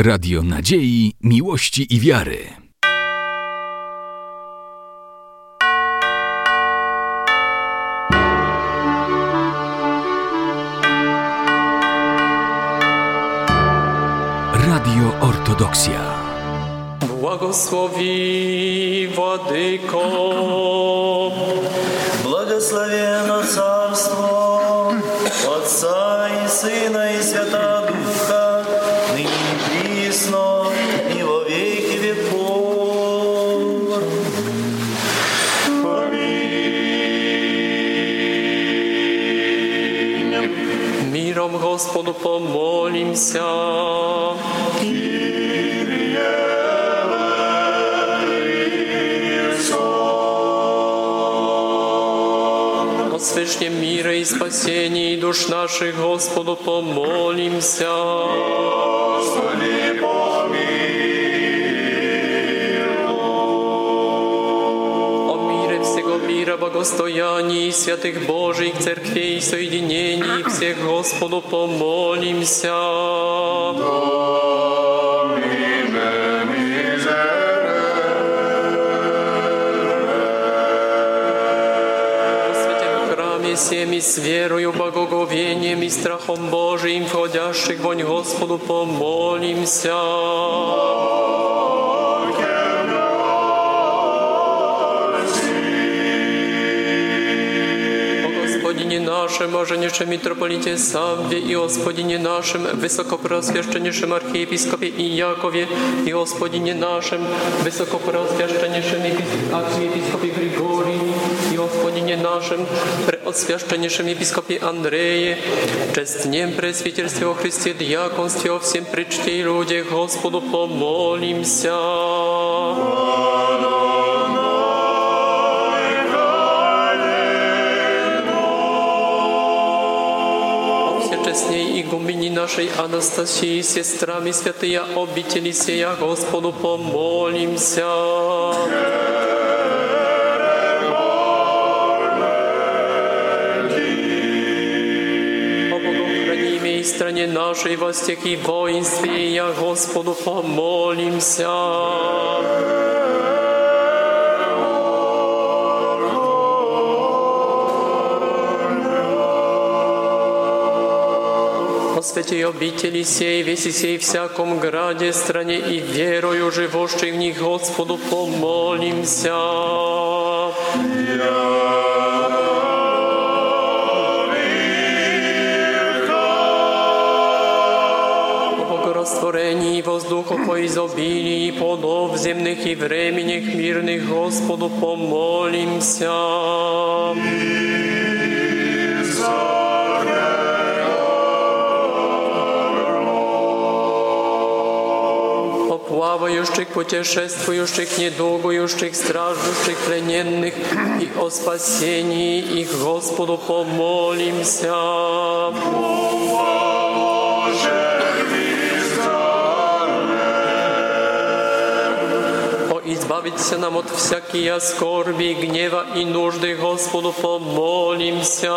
Radio Nadziei, Miłości i Wiary. Radio Ortodoksja. Błogosławi Władyko. Благословенно Царство Отца и Сына и Святого Духа, ныне и присно, и во веки веков. Аминь. Миром Господу помолимся. Свышне мира и спасения душ наших Господу помолимся. Господи, помилуй. О мире всего мира, богостоянии святых Божьих церквей и соединений всех Господу помолимся. Всеми с верою, благоговением и страхом Божиим, входящих вонь Господу, помолимся. О Господине нашем, Моженейшем митрополите Савве, и Господине нашем, Высокопреосвященнейшем архиепископе Иакове, и Господине нашем, Высокопреосвященнейшем архиепископе Григории, и Господине нашем, Преосвященнейшем епископе Андрее, честнем пресвитерстве во Христе, диаконстве, о всем причте и людях, Господу помолимся. Всечестней игумени нашей Анастасии, сестрами святые обители сия, Господу помолимся. В стране нашей, во всех и воинстве, я Господу помолимся. О святой обители сей, веси сей, всяком граде, стране и верою живущих в них, Господу помолимся. Растворении воздуха по изобилии плодов земных и временных мирных, Господу помолимся. О плавающих, путешествующих, недугующих, страждущих, плененных и о спасении их, Господу помолимся. Избавиться нам от всякие скорби, гнева и нужды, Господу помолимся.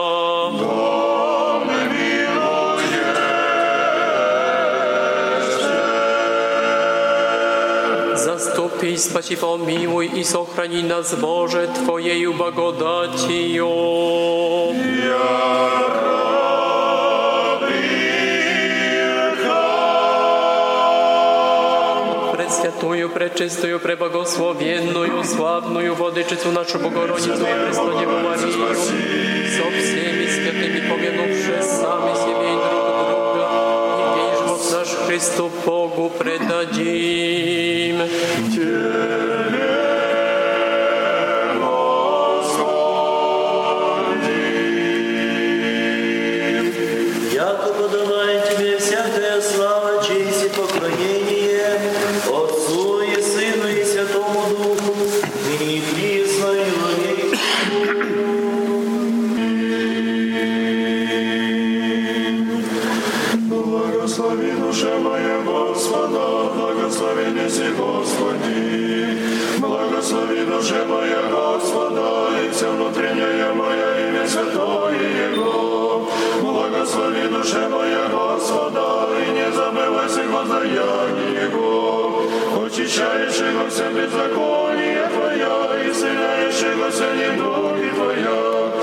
Заступи, спаси, помилуй и сохрани нас, Боже, Твоею благодатью. Святую, пречистую, преблагословенную, славную Владычицу нашу Богородицу и Преснодеву Марию, со всеми святыми помянувши сами себе и друг друга, и весь живот наш Христу Богу предадим. Яко подавай Тебе всякая слава, честь и поклонение, Отцу и Сыну и Святому Духу, ныне и присно и во веки. Благослови душа моя Господа, благослови неси Господи. Благослови душа моя Господа, и вся внутренняя моя имя святое Его. Благослови душа моя Господа, и не забывайся воздаяние Венчающего все беззаконие Твоя, исцеляющего все недуги Твоя,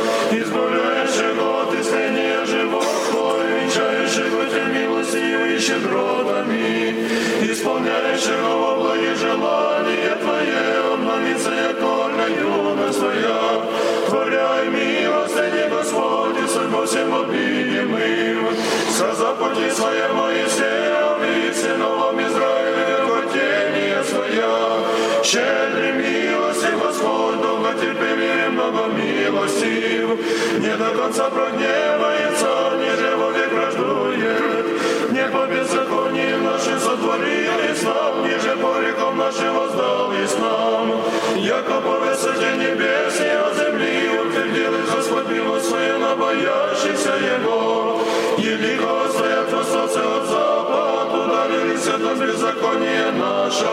избавляющего от исцеления живот Твой, венчающего Тебя милостью и щедротами, исполняющего во благе желания Твое, обновится яко юность Твоя, творяй милостыни, Господь, и судьбу всем обидимым, сказав пути Своя Моисеем и сыновам Израиля, хотение Своя, щедрый милости, Господь, долготерпимый, много милостив, не до конца прогневается, ниже вовек враждует, не по беззакониям нашим сотворились нам, ниже по рекам нашим воздались нам, яко по высоте небес и от земли утвердил Господь милость свою на боящихся Его, великого стоят востоцы от запад, удалились от нас беззаконие наше,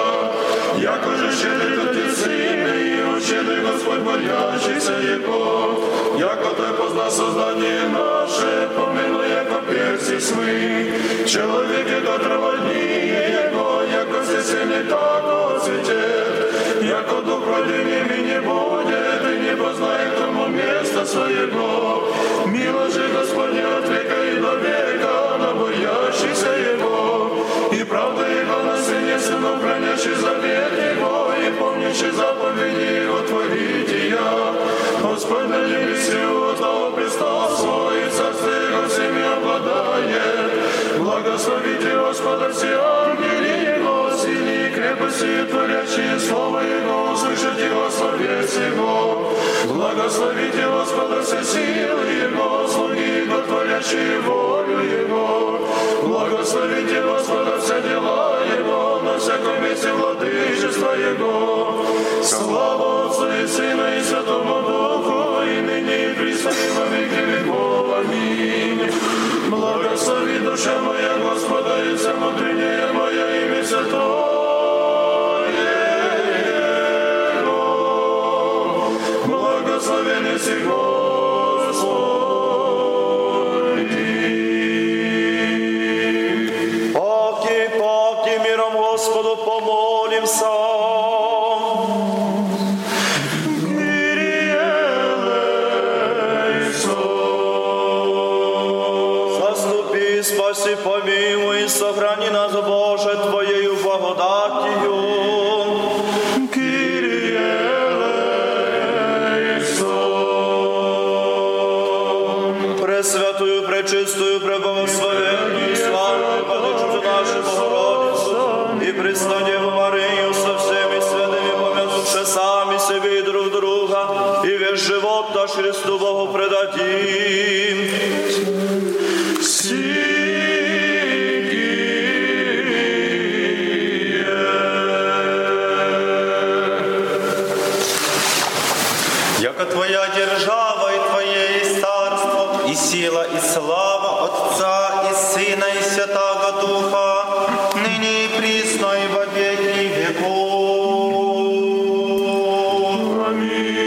яко же щедрый Отец и щедрый Господь боящийся Его, яко Ты познал создание наше, помилуй, яко перси свы, человек, яко траводнее Его, яко всесильный, тако цветет, яко дух родинами не будет, и не познает тому место своего, милость же Господня от века и до века, на боящихся Его, и правда Его на сыне сынов, хранящий завет Его, и помнящий заповеди Его творите я. Господь на небесе от того престола свой, и царство Его всеми обладает. Благословите Господа все ангели Его, сильные и крепости, творящие слово Его, услышите Его словес Его. Благословите Господа все силы Его, слуги Его, творящие волю Его. Благословите Господа все дела Его, на всяком месте владычества Его. Слава Отцу и Сыну и Святому Духу, и ныне и присно и во веки веков. Аминь. Благослови душа моя Господа, и вся внутренняя моя имя святое Его. Благословен и Господь. Паки миром Господу помолимся. Заступи, спаси, помилуй, сохрани нас, Боже, Твоею благодатью. Пресвятую, пречистую, преблагословенную, славную Владычицу нашу Богородицу и Преснодеву Марию со всеми святыми, помянувши сами себе и друг друга, и весь живот наш Христу Богу предадим. Яко Твоя держава и Твое есть царство, и сила, и слава Отца, и Сына, и Святаго Духа, ныне и присно, и во веки веков. Аминь.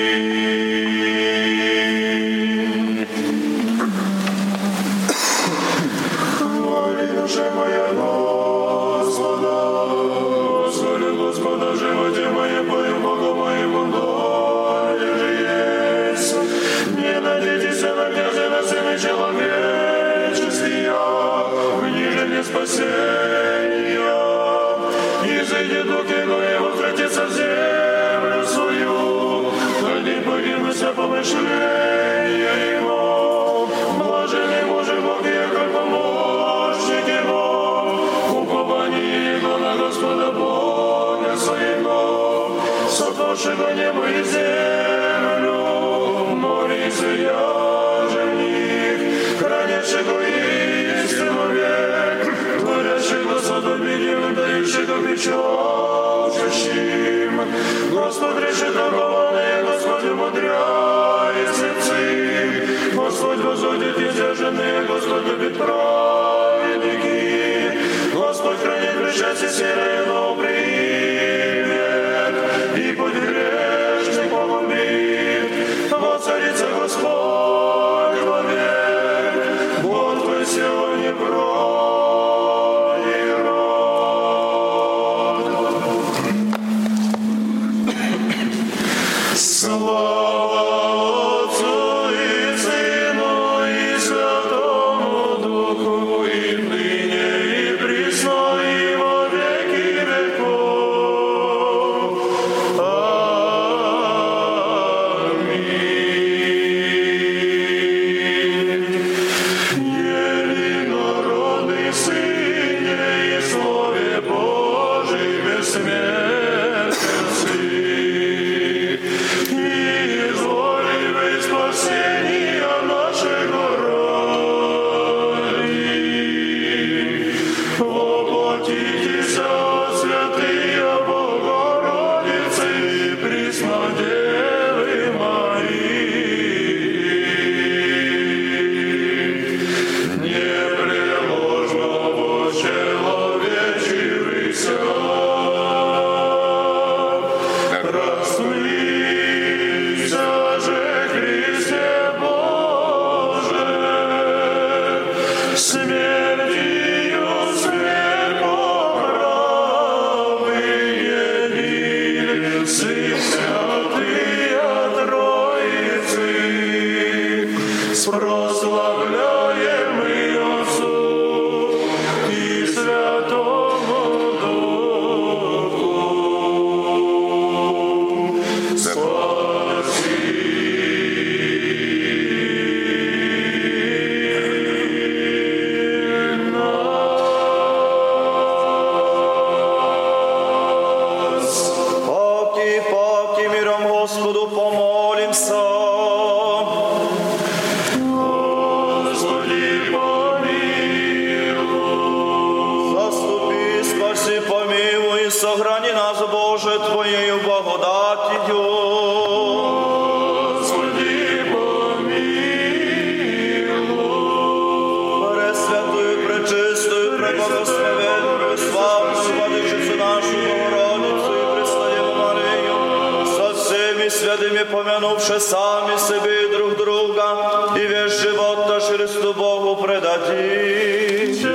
Хвали душа моя Господа, славлю Господа, животе моем, пою Богу моему, доля же есть. Не надейтесь на князя, на сына человеческия, в ниже спасения. И зайдет дух Его, и возвратится в землю свою, они погибнутся помышления Его. Блаженный мужик Бог, яко помощник Его, упование Его на Господа Бога своего, сотворшего небо и землю, море и сияже в них, хранящего истину век, творящего садобилем, дающего печалчащим. Господь решит дарованное, Господь умудряет сердцы, Господь возводит издержанные, Господь любит праведники, Господь хранит причастие серое, но примет, и путь грешный погубит. Воцарится Господь вовек, вот Твой сегодня пройдет. сохрани нас, Боже, Твоею благодатью. Господи, помилуй. Пресвятую, пречистую, преблагословенную, славную Владычицу нашу, Богородицу и Преснодеву Марию, со всеми святыми помянувши сами себе и друг друга, и весь живот наш Христу Богу предадим.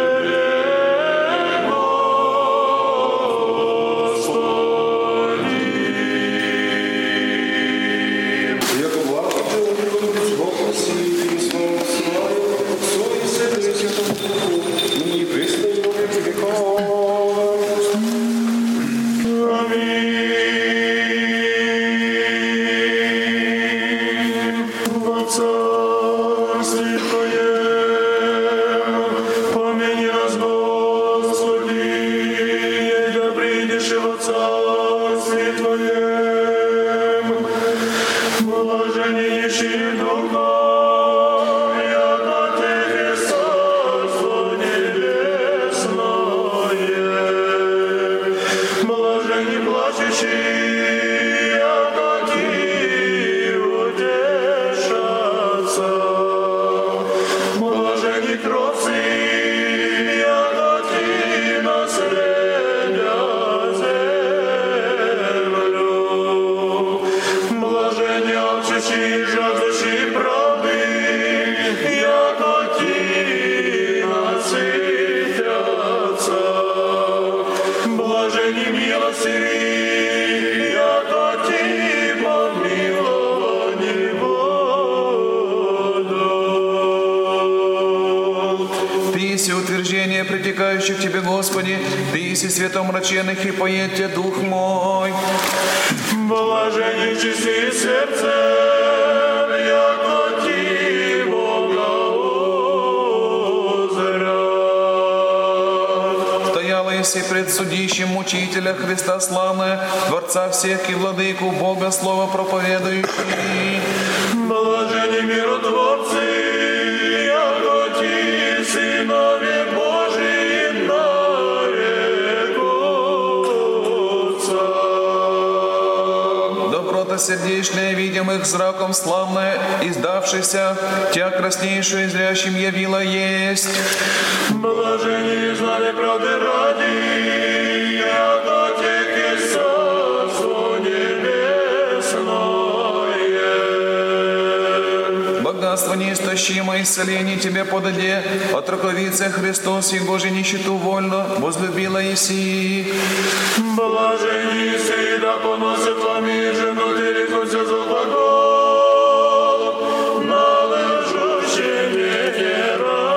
Притекающих Тебе, Господи, Ты еси светомраченных, и поет Тебе дух мой. Блаженни чисти сердцем, яко Ти Бога узрят. Стояла еси пред судищем мучителя Христа славная, Творца всех и Владыку Бога слово проповедующий. Блаженни миротворцы, яко Ти сынове Божии нарекутся. Доброта сердечная, видимых зраком славная, издавшийся, Тя краснейшую зрящим явила есть. Блаженни знали правды ради, яко тех и царство небесное. Богатство неистощимое, исцеление Тебе подаде, от раковицы Христос, Его же нищету вольно возлюбила еси. Блаженни сей, да поносит вами жену, дерекутся за глагол, належащий мне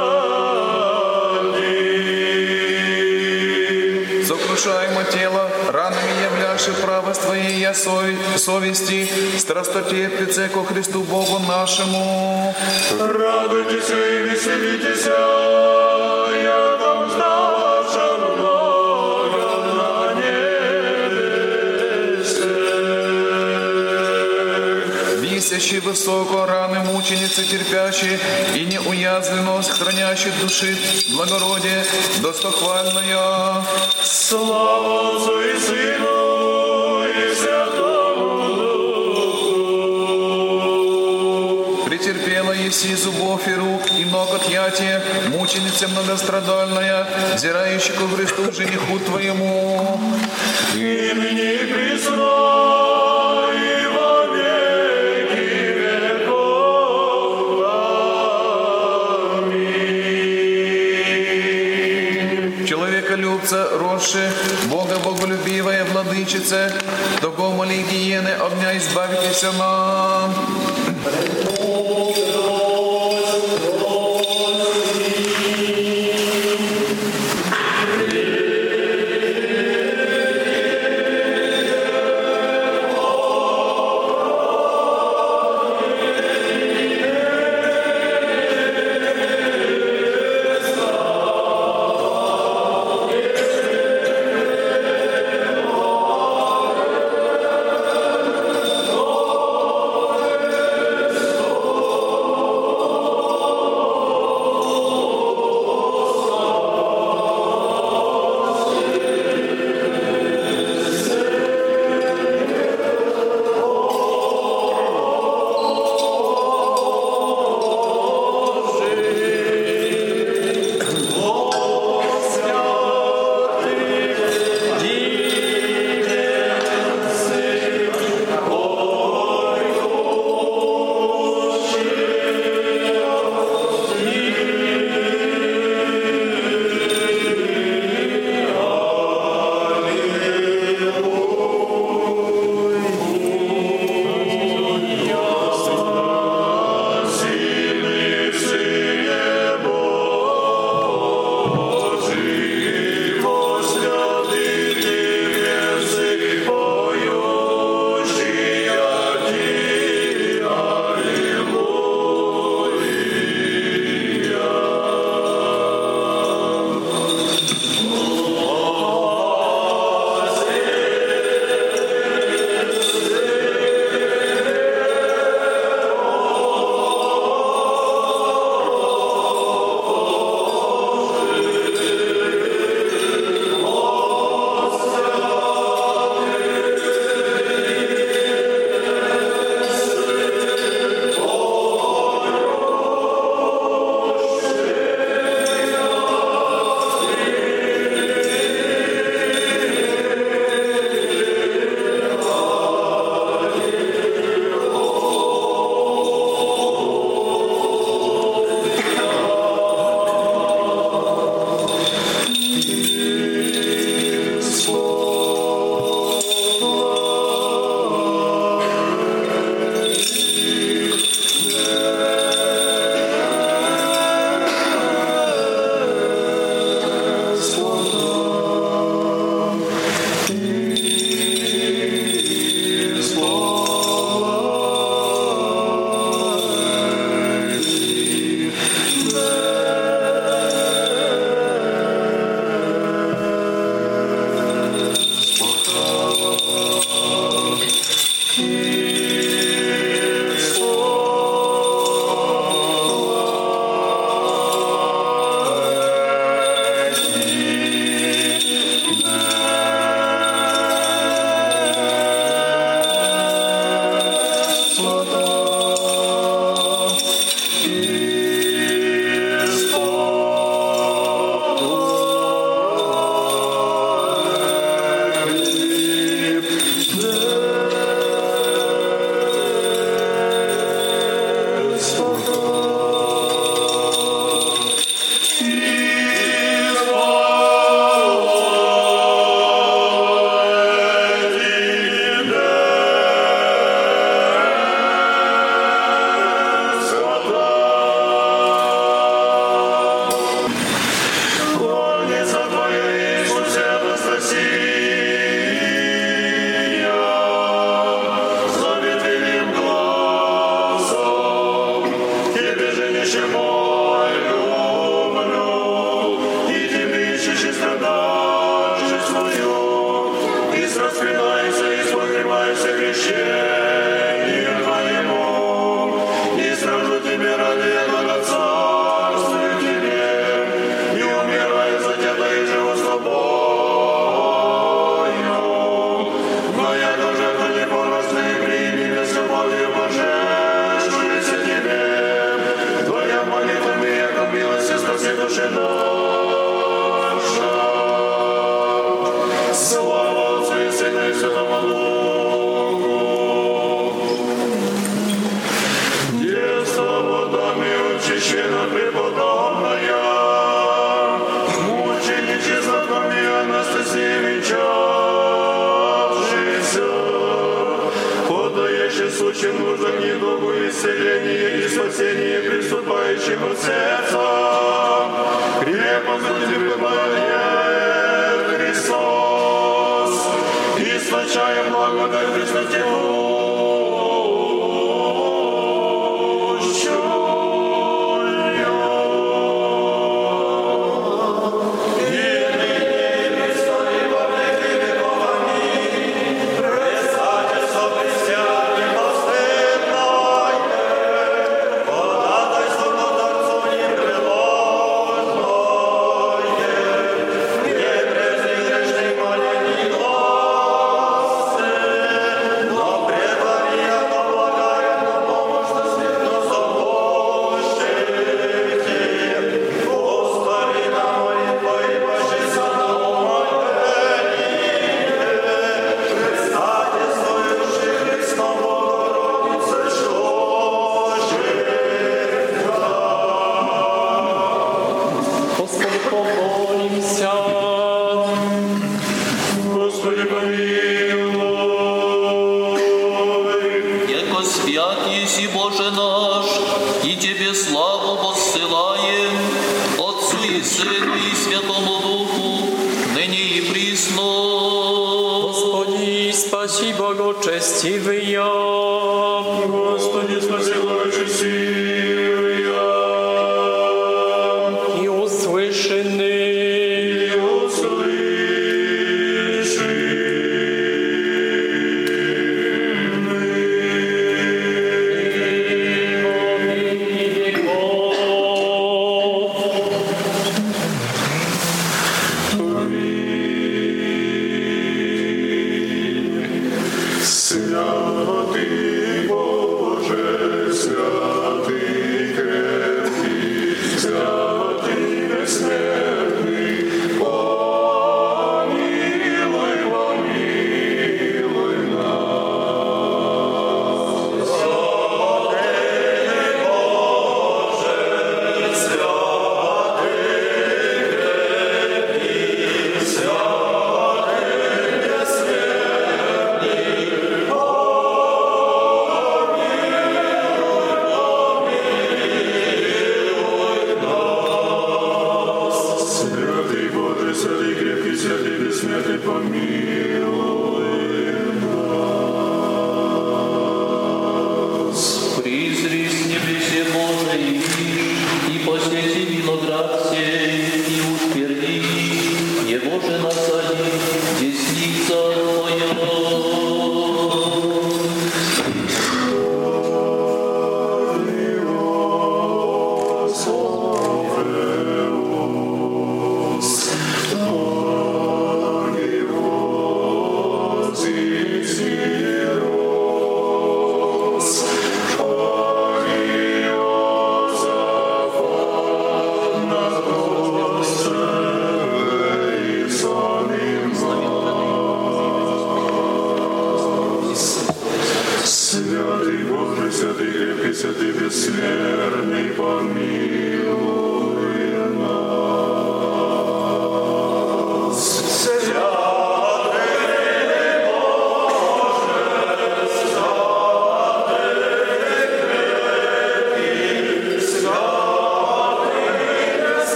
ради. Сокрушаемо тело, ранами являши правость Твоей я совести, страстотерпице ко Христу Богу нашему. Радуйтесь и веселитесь, я там ставшим много на небесе. Висящий высоко раны мученицы терпящие, и неуязвленность хранящих души благородие достохвальная. Слава Отцу и Сыну и Святому Духу. Претерпела еси зубов и рук, и ног отъятия, мученица многострадальная, взирающая ко Христу жениху Твоему. И ныне и присно, и во веки веков. Аминь. Человеколюбца, росши, Бога боголюбивая владычица, того моли гиены огня избавитесь нам. величаем благодать Христа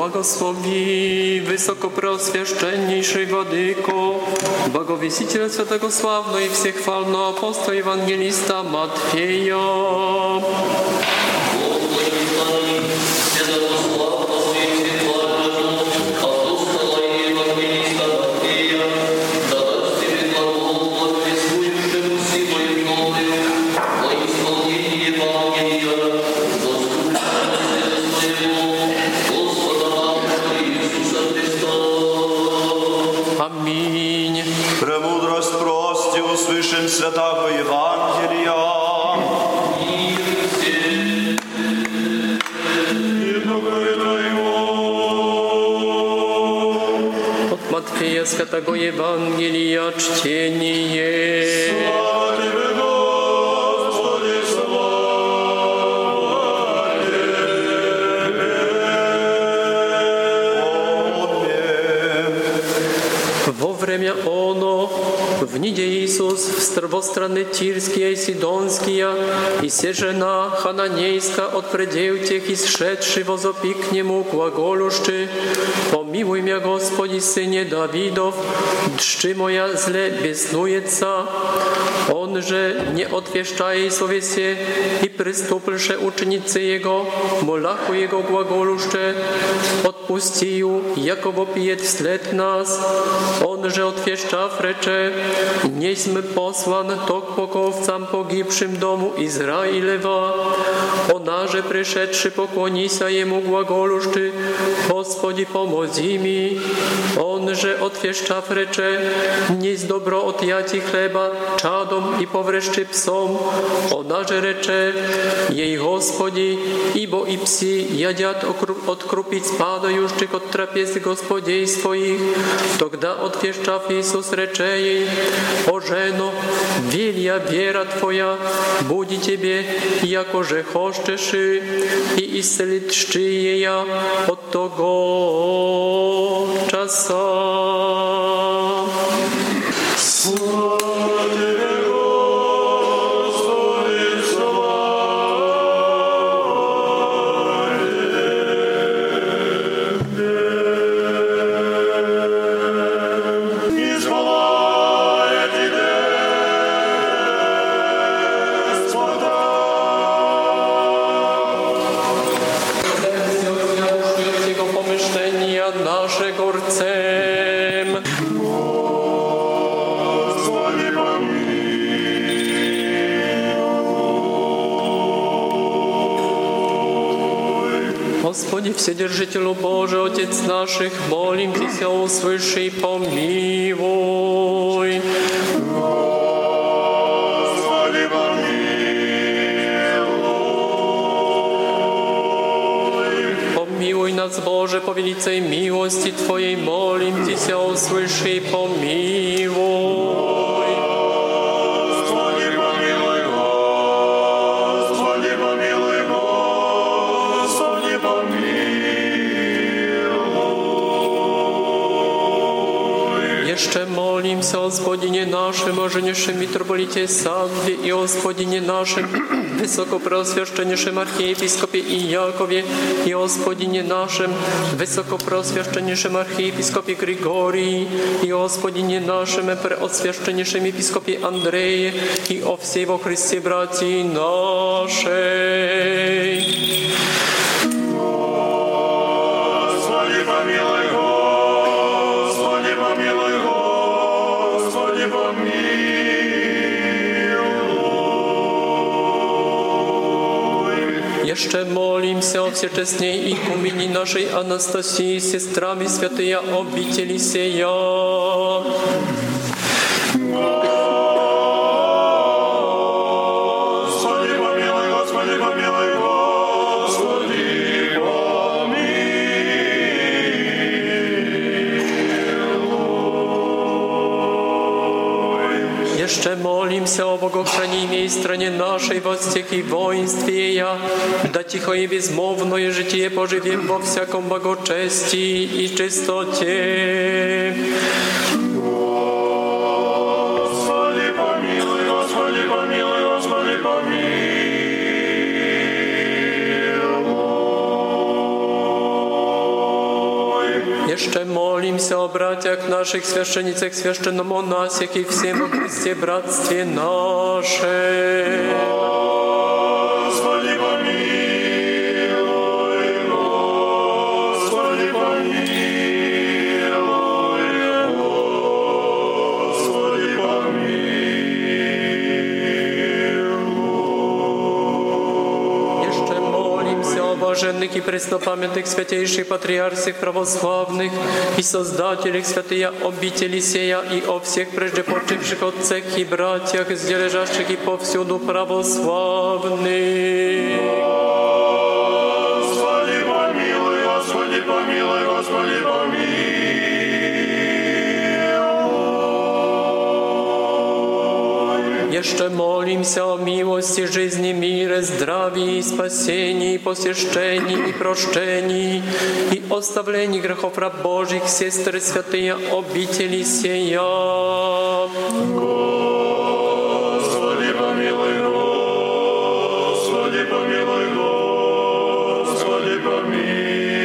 Błogosławi wysokopreoswieszczenniejszy Władyko, Bogowiesiciel Świętego Sławno i Wszechchwalno apostoł Ewangelista Matwieja. Аминь. Премудрость прости, услышим святого Евангелия. От Матфея Святого Евангелия чтение. Слава Тебе, Господи, слава Тебе. Во время оно, в неде Иисус в страны Тирские и Сидонские, и се жена Хананейска от предел тех исшедший возопи к нему глаголущий: «Помилуй меня, Господи, Сыне Давидов, дши моя зле беснуется». Он же, не отвещая совесе, и приступивши ученицы Его, молаху Его глаголуще: «Отпусти, яко вопиет вслед нас». Он же, отвещав, рече: «Не сме послан ток поковцам погибшим дому Израилева». Она же, пришедши, поклонися Ему глаголущи: «Господи, помози mi». On же, отвещав, рече: «Несть добро отъяти хлеба чадом и поврещи псом». Она же рече ей: «Господи, ибо и пси ядят от крупиц падающих от трапез Господей своих». Тогда отвещав Иисус, рече ей: «О жено, велия вера твоя, буди тебе, яко же хочешь, и исцелит ея от того часа». Слава Тебе, Господи, слава Тебе. Избавляй Тебе, Господа. Jego pomyślenia nasze gorcem. Господи, помилуй. Господи, Вседержителю Божий, Отец наших, молим Тебя, услыши и помилуй. Господи, помилуй. Помилуй нас, Боже, по великой милости Твоей, молим Тебя, услыши и помилуй. Господи, помилуй, Господи, помилуй, Господи, помилуй. Jeszcze молимся о Господине нашем, о женейшем митрополите Савве и о Господине нашем, высокопреосвященнейшем архиепископе Иакове, и о Господине нашем, высокопреосвященнейшем архиепископе Григории, и о Господине нашем, преосвященнейшем епископе Андрее, и о всей во Христе братьи нашей. Господи, помилуй, Господи, помилуй, Господи, помилуй. Jeszcze молимся о всечестней икумене нашей Анастасии, сестрами святые обители сея. Господи, помилуй, Господи, помилуй, Господи, помилуй. Jeszcze молимся о богохранимой стране нашей во всех и воинстве я, да тихо и безмолвное житие поживем во всяком благочестии и чистоте. Господи, помилуй, Господи, помилуй, Господи, помилуй. Jeszcze молимся о братьях наших, священницах, священномонасях и всем во Христе братстве наше. Господи, помилуй, Господи, помилуй, Господи, помилуй. Jeszcze молимся о блаженных и преснопамятных святейших патриарсих православных и создателях святые обители сея и о всех прежде почивших отцах и братьях, здесь и повсюду православных. Господи, помилуй, Господи, помилуй, Господи, помилуй. Jeszcze молимся о милости, жизни, мире, здравии, спасении, посещении и прощении и оставлении грехов раб Божьих, сестры святые обители сея. Господи, помилуй, Господи, помилуй, Господи, помилуй.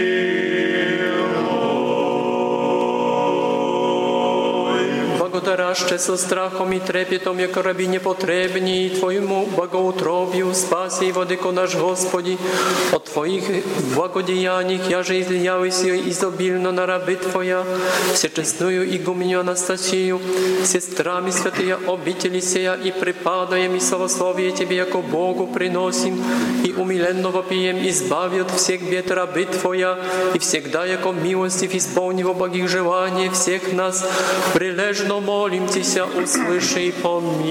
Благодараще со страхом и трепетом, яко раби непотребни, и Твоему богоутробию, спаси, владыко наш Господи, от Твоих благодеяний, я же излиявайся изобильно на рабы Твоя, всечестную игуменю Анастасию, сестрами святые обители сея, и припадаем и славословие Тебе, яко Богу приносим, и умиленно вопием, избави от всех бед рабы Твоя, и всегда, яко милостив, исполни во благих желаний всех нас, прилежно молим Тися, услыши и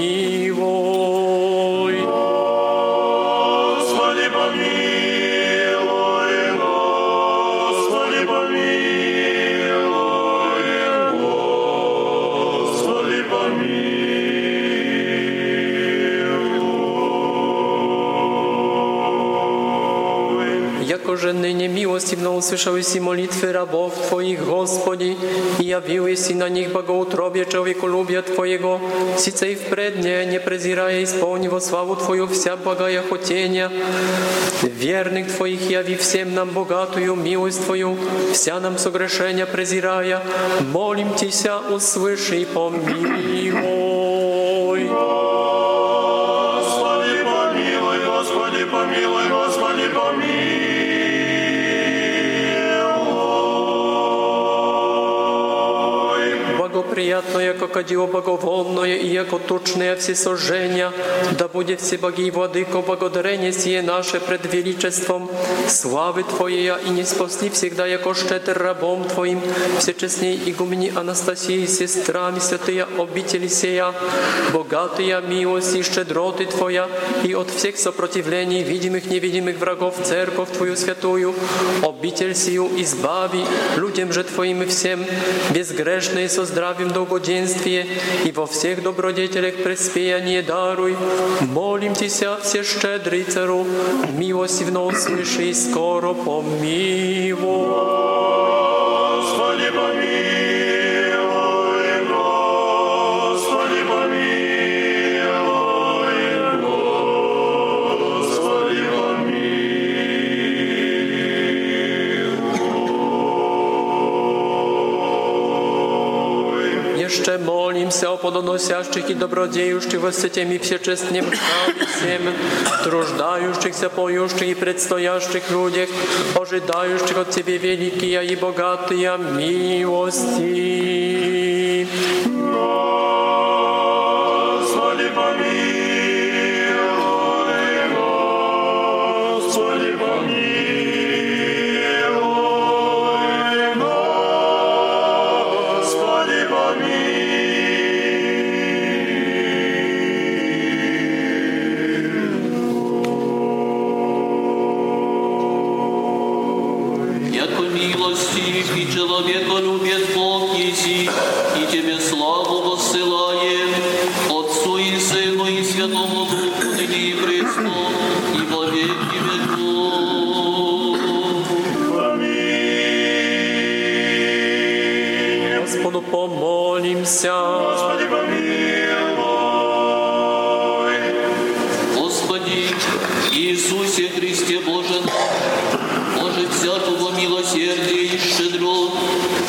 помилуй. Господи, помилуй, Господи, помилуй, Господи, помилуй. Якоже ныне милостивно услышалось и молитвы рабов Твоих, Господи, и явилось и на них богоутробие человеколюбия Твоего, сице и впредне, не презирая, исполни во славу Твою вся благая хотения. Верных Твоих яви всем нам богатую милость Твою, вся нам согрешения презирая, молим Тися, услыши и помилуй. Господи, помилуй, Господи, помилуй, Господи, помилуй. Благоприятно, яко кадило благовонное и яко тучное всесожжения, да будет всеблагий Владыко благодарение сие наше пред величеством славы Твоей, и не спасли всегда, яко щедр рабом Твоим, всечестней игумени Анастасии, сестрами святые обители сея, богатая милость и щедроты Твоя, и от всех сопротивлений, видимых невидимых врагов, церковь Твою святую, обитель сию избави, людям же Твоим и всем, безгрешные со здравием долгоденствие, и во всех добродетелях преспеяние даруй. Молим Тися, все щедрый Цару, милостивно услыши и скоро помилуй. Господи, помилуй, Господи, помилуй, Господи, помилуй. Jeszcze молимся о плодоносящих и добродеющих во святем и всечестнем храме всем, труждающихся, поющих и предстоящих людях, ожидающих от Тебе великие и богатые милости. Господи, помилуй, Господи, помилуй, Господи, помилуй. Яко милостив и человеколюбец Бог еси, и Тебе славу воссылаем, Отцу и Сыну и Святому Духу, ныне и пресно, и во веки веков. Аминь. Господу помолимся. Господи, помилуй. Господи, Иисусе Христе Боже наш, Боже всякого милосердия и щедрот,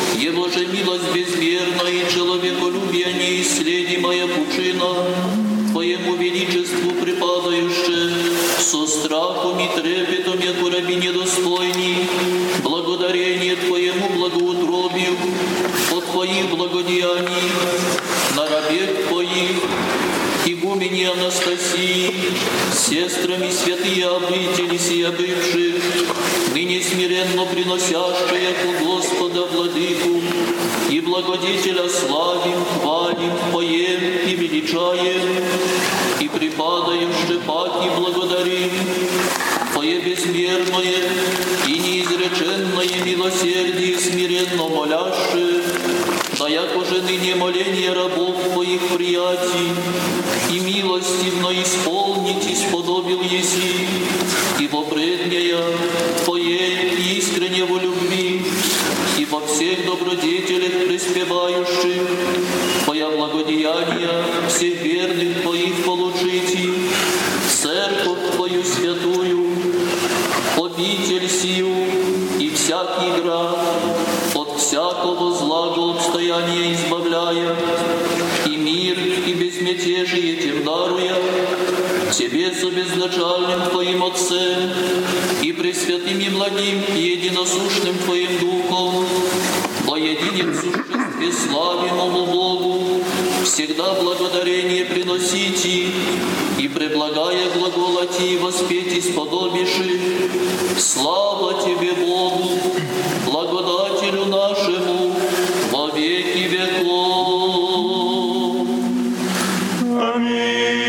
же милость безмерная и человеколюбие неисследимая пучина, Твоему величеству припадающее, со страхом и трепетом, яко раби недостойни, благодарение Твоему благоутробию от Твоих благодеяний, на рабе Твоих, игумени Анастасии, сестрами святые обители сия бывших, ныне смиренно приносящие у Господа Владыку, и благодетеля славим, хвалим, поем и величаем, и припадающие паки благодарим, Твое безмерное и неизреченное милосердие смиренно молящее, да яко же ныне моление рабов Твоих приятий, и милостивно исполнить исподобил еси, ибо предняя Твоей искренне во любви, и во всех добродетелях преспевающих, Твоя благодеяния всех верных Твоих получите, церковь Твою святую, обитель сию и всякий град, от всякого злого обстояния избавляя, и мир, и безмятежие Тем даруя, Тебе со безначальным Твоим Отцем, и пресвятым и благим, и единосущным Твоим Духом, во едином существе славимому Богу, всегда благодарение приносите, и преблагая глаголати и воспеть исподобиши, слава Тебе, Богу, благодателю нашему, во веки веков. Аминь.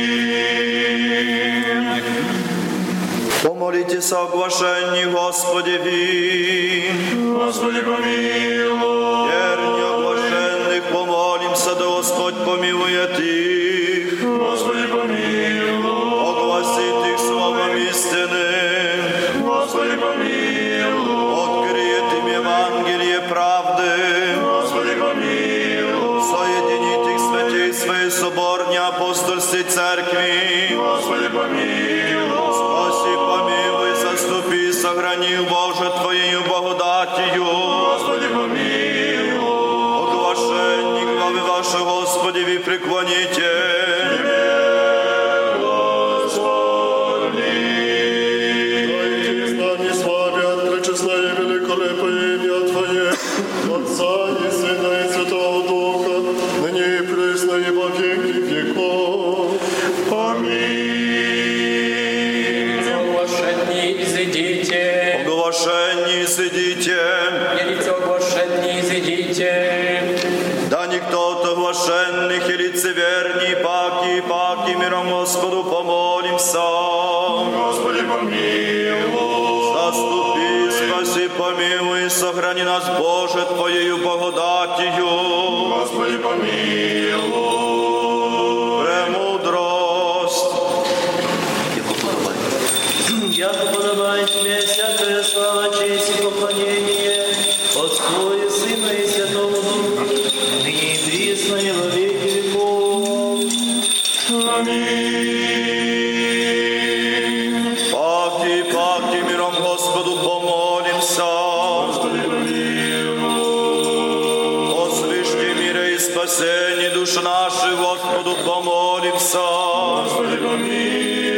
Помолитесь о оглашении Господеви. Господи, помилуй. Верни оглашенных помолимся, да Господь помилует их. Господи, помилуй. Огласит их словом истины. Господи, помилуй. Откроет им Евангелие правды. Господи, помилуй. Соединит их святей своей соборной апостольской церкви. Господи, помилуй. Спаси, помилуй, заступи, сохрани, Боже, Твоею благодатью. Господи, помилуй. Оглашенник главы вашей, Господи, вы преклоните. Оглашенни изыдите. Оглашенни изыдите. Да никто от оглашенных и лицеверней, паки, миром Господу помолимся. Господи, помилуй. Заступи, спаси, помилуй, сохрани нас, Боже, Твоею благодатью. Господи, помилуй. Премудрость. Яко подобает Тебе всякая слава, честь и поклонение, Отцу и Сыну и Святому Духу, ныне и присно и во веки веков. Аминь. Паки, миром Господу помолимся. Господи, помилуй. О слишком мире и спасении душ наших, Господу помолимся. Господи, помилуй.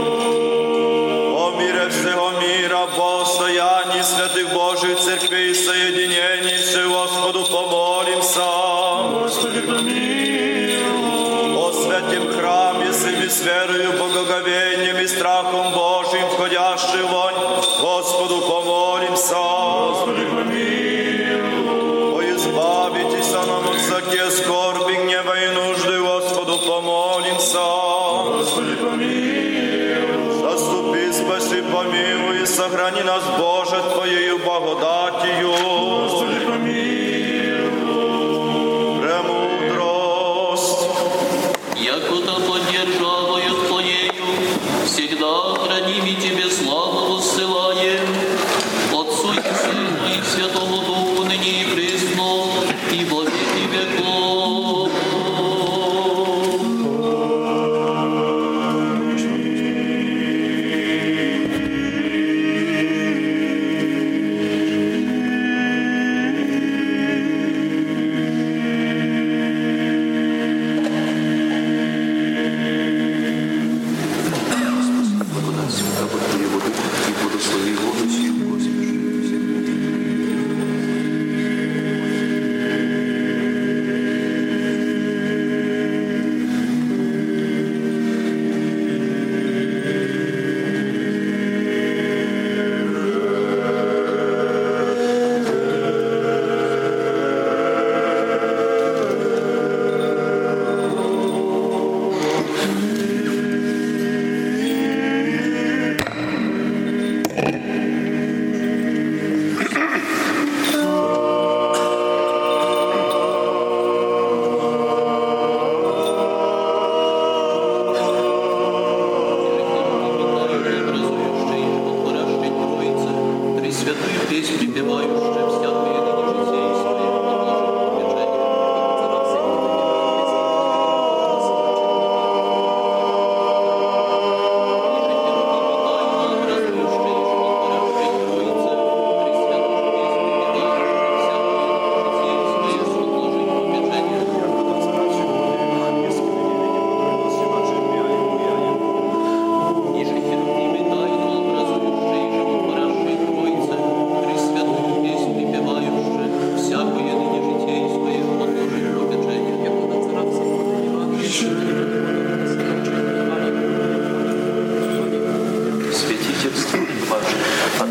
О мире всего мира, постоянии святых Божьих церквей и соединений, все Господу помолимся. Господи, помилуй. О святем храме, сыми с верою, благоговением и страхом Божьим, входящий вонь, Господу помолимся. Господи, помилуй. О избавитесь нам от всякие скорби, гнева и нужды, Господу помолимся. Господи, помилуй. Заступи, спаси, помилуй, и сохрани нас, Боже, Твоею благодатью. Господи, помилуй. Премудрость. Якуда поддержавою Твоею, всегда храним и Тебе славу воссылаем, Отцу и Сыну и Святому Духу, ныне и присно, и во веки веков. Пресвятую песнь припевающую, всякое ныне житейское, отложим попечение, Святительство ваше от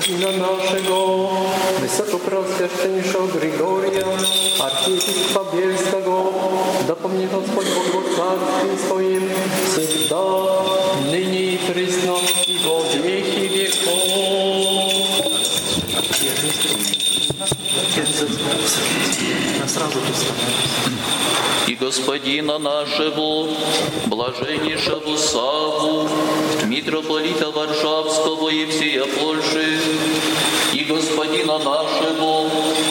Господina naszego, wysokopreoswięczeńszego Grigoria, archiepiskopa Bielskiego, dopomni Господь Бог o Царstwie swoim, всегда, ныне и присно, и во веки веков. И Господина нашего, блаженнейшего Савву, митрополита Варшавского и всея Польши, и Господина нашего,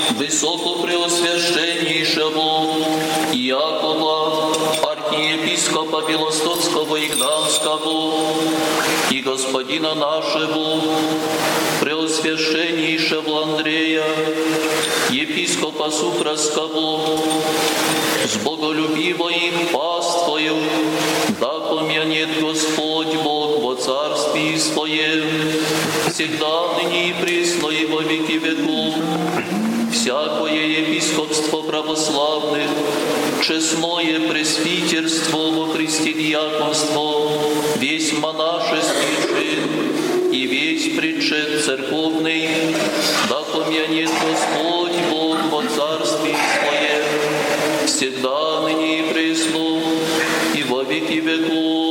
высокопреосвященнейшего Якова, архиепископа Белостоцкого и Гданского, и Господина нашего, преосвященнейшего Андрея, епископа Сухрасского, с боголюбивой паствою, да помянет Господь Бог во Царстве Своем, всегда ныне и присно и во веки веков. Всякое епископство православных, честное пресвитерство во Христе диаконство, весь монашеский чин и весь причет церковный, да помянет Господь Бог во Царстве Своем, всегда ныне и присно и во веки веков.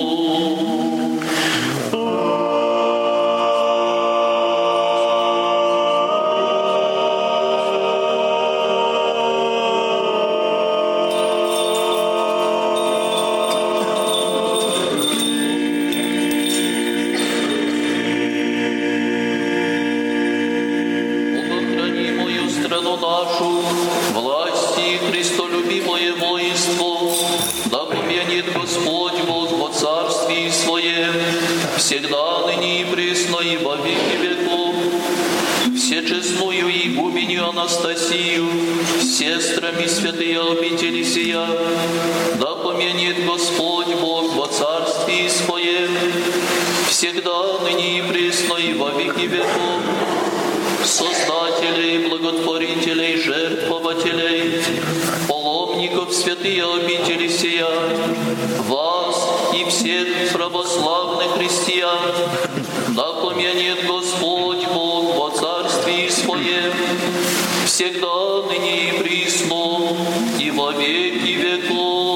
Нашу, власти, Христолюбимое воинство, да помянет Господь Бог во Царстве Своем, всегда ныне и присно и во веки веков. Всечестную игуменью Анастасию, сестрами святые обители сия, да помянет Господь Бог во Царстве Своем, всегда ныне и присно и во веки веков. Создателей, благотворителей, жертвователей, паломников святые обители сия, вас и всех православных христиан, да помянет Господь Бог во Царстве Своем, всегда ныне и присно и во веки веков.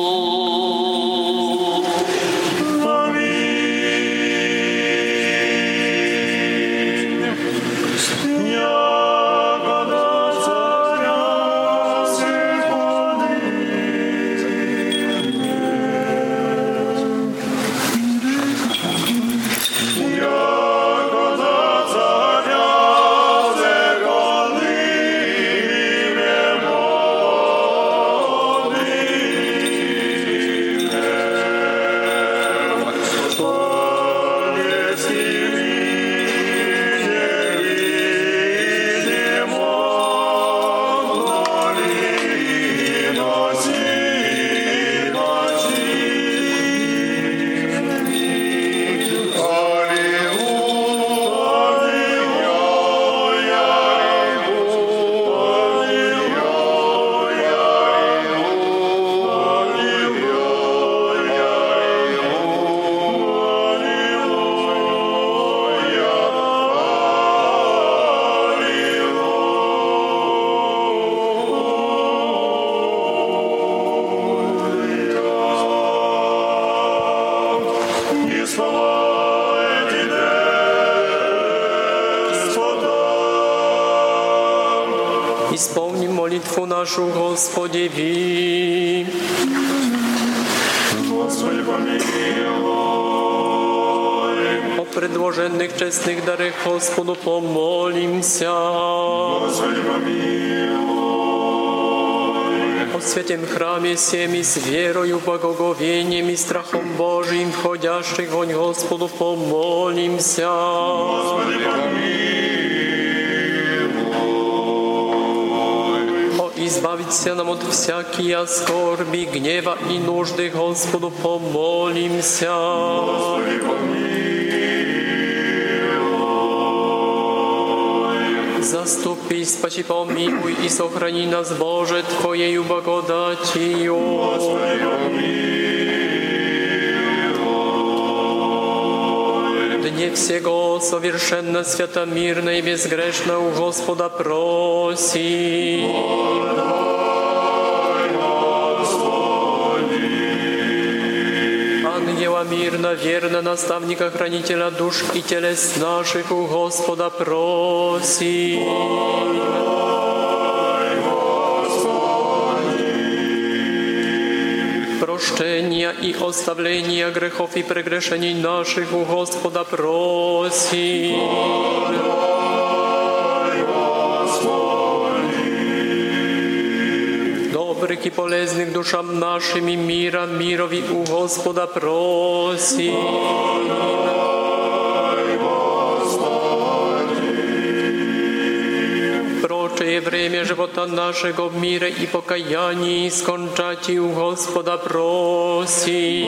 Исполни молитву нашу, Господи, ви. Господи, помилуй. О предложенных честных дарах Господу помолимся. Господи, помилуй. О святем храме всем и с верою, благоговением и страхом Божиим, входящих вонь Господу помолимся. Господи, помилуй. Избавиться нам от всякие скорби, гнева и нужды, Господу помолимся. Господи, помилуй. Заступи, спаси, помилуй и сохрани нас, Боже, Твоею благодатью. Господи, помилуй. Dnie всего совершенно свято, мирно и безгрешно у Господа проси. Ангела мирно, верно, наставника, хранителя душ и телес наших у Господа проси. Прощения и оставления грехов и прегрешений наших у Господа проси. Добрых и полезных душам нашим и мира, мирови у Господа проси. Прочее время живота нашего в мире и покаянии скончать у Господа проси.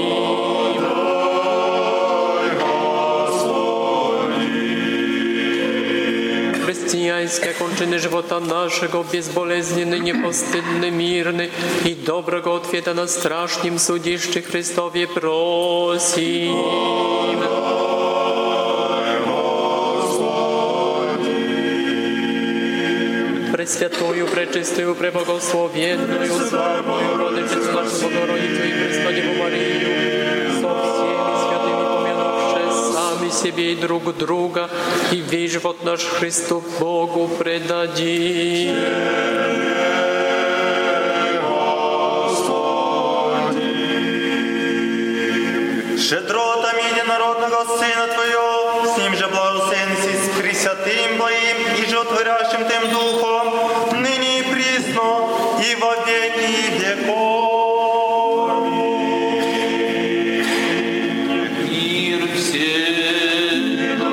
Chrześcijańskie kończyny żywota naszego, bezbolesny, niepostydny, mirny i dobrego odwieta na strasznym sudziszczy Chrystowie prosim. Пресвятую, пречистую, преблагословенную, славную Владычицу нашу Богородицу и Пресвятую Марию, со всеми святыми помянувши сами себе и друг друга, и весь живот наш Христу Богу предадим. Щедротами единородного Сына Твоего, с Ним же благословенности с Пресвятым Твоим и животворящим Тем Духом, ныне и присно, и во веки веков. Мир всем.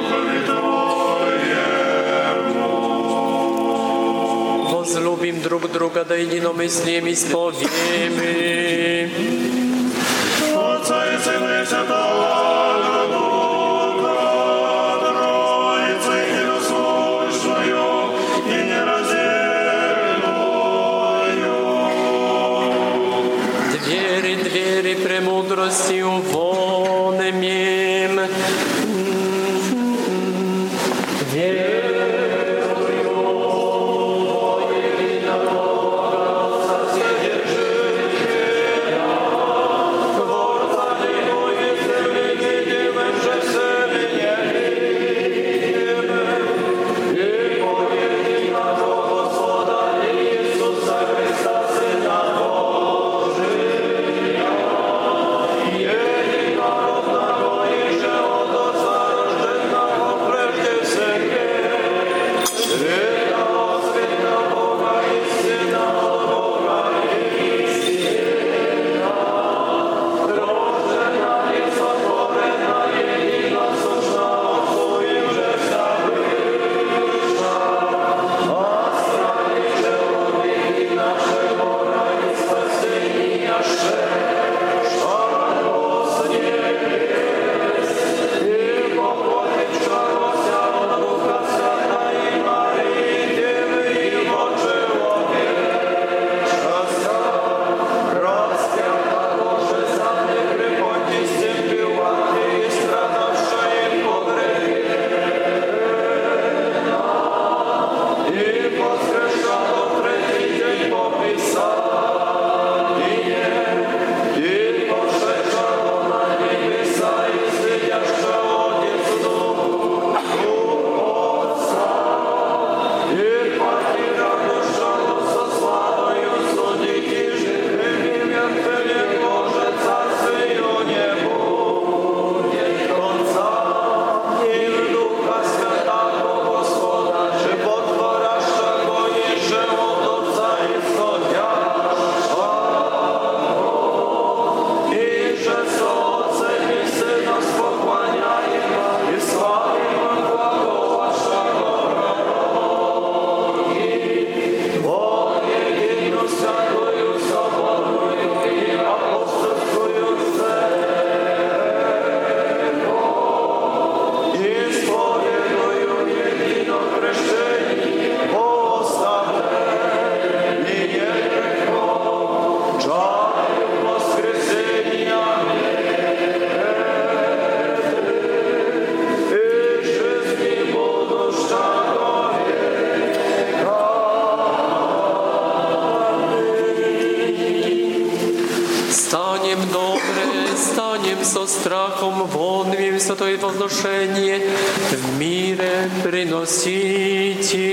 Возлюбим друг друга, да единомыслием исповедуем. Отца и Сына и Святого Духа, Троицы единосущную и нераздельную. Двери премудростью вон имеем. свое возношение в мире приносите.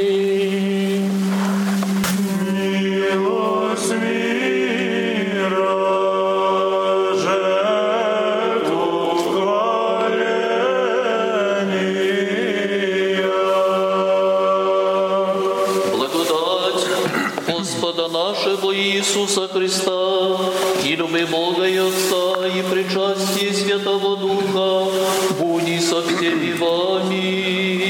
Милость мира, жертву хваления. Благодать Господа нашего Иисуса Христа и любви Бога и Отца и причастие Святого Духа будь со всеми вами.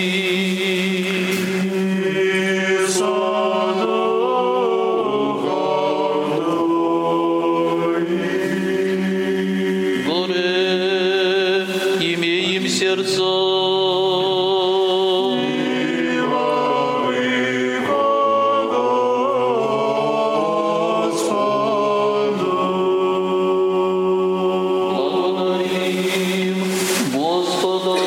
Горе имеем сердца. Благодарим Господа.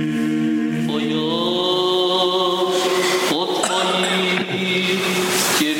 Тебе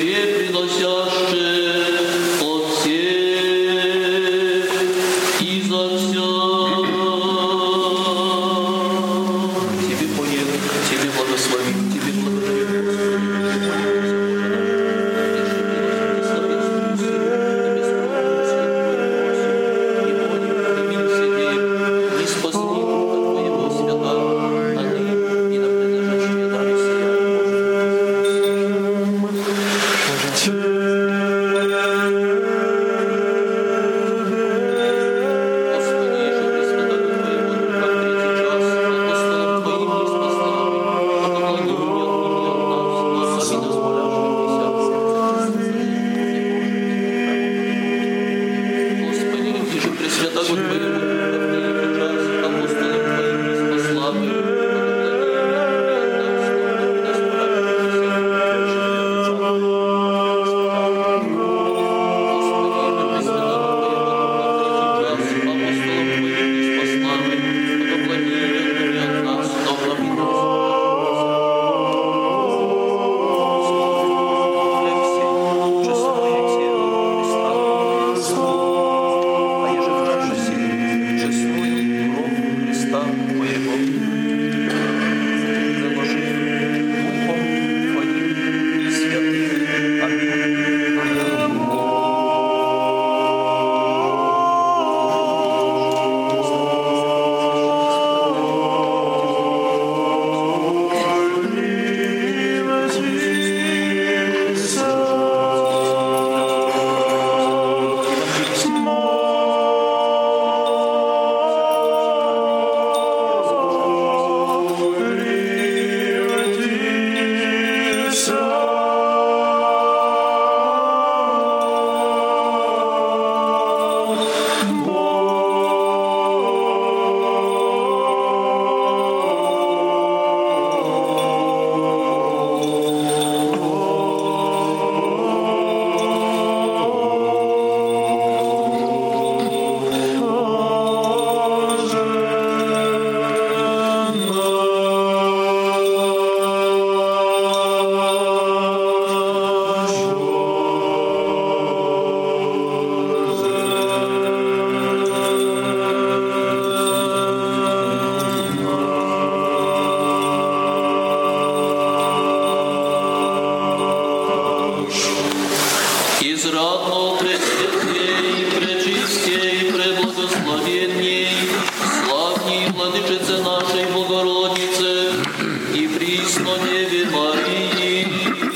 безрадно, пресвятей, пречистей, преблагословенней, славней Владычице нашей Богородице и присно Деве Марии.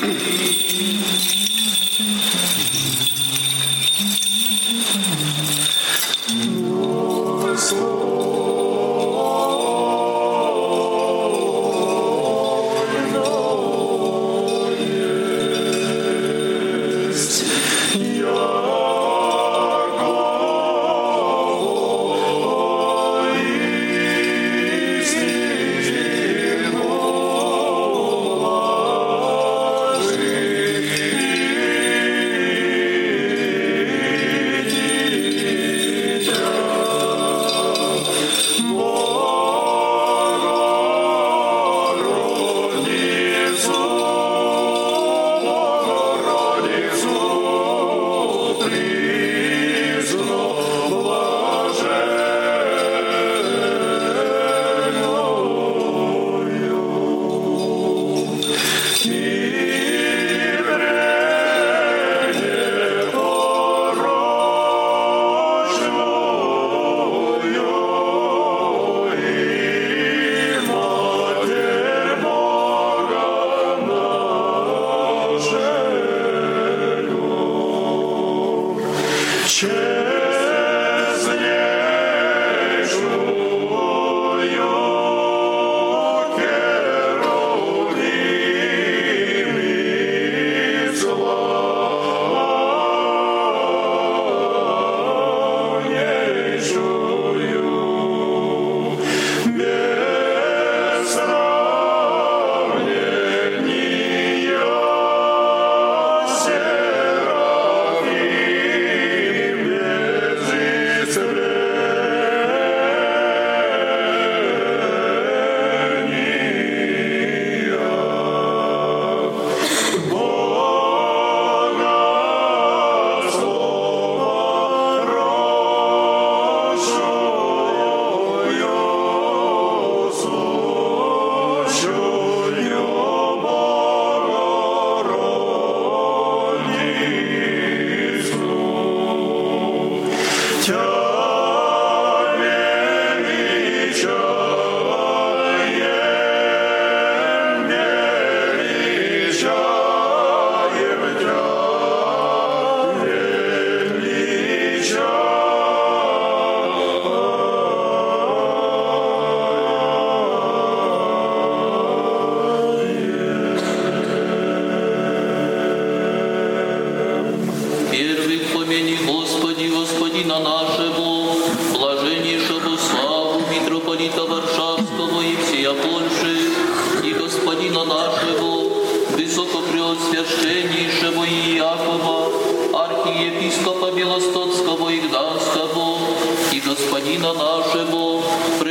Высокопреосвященнейшего Иакова, архиепископа Белостоцкого и Гданского, и господина нашего,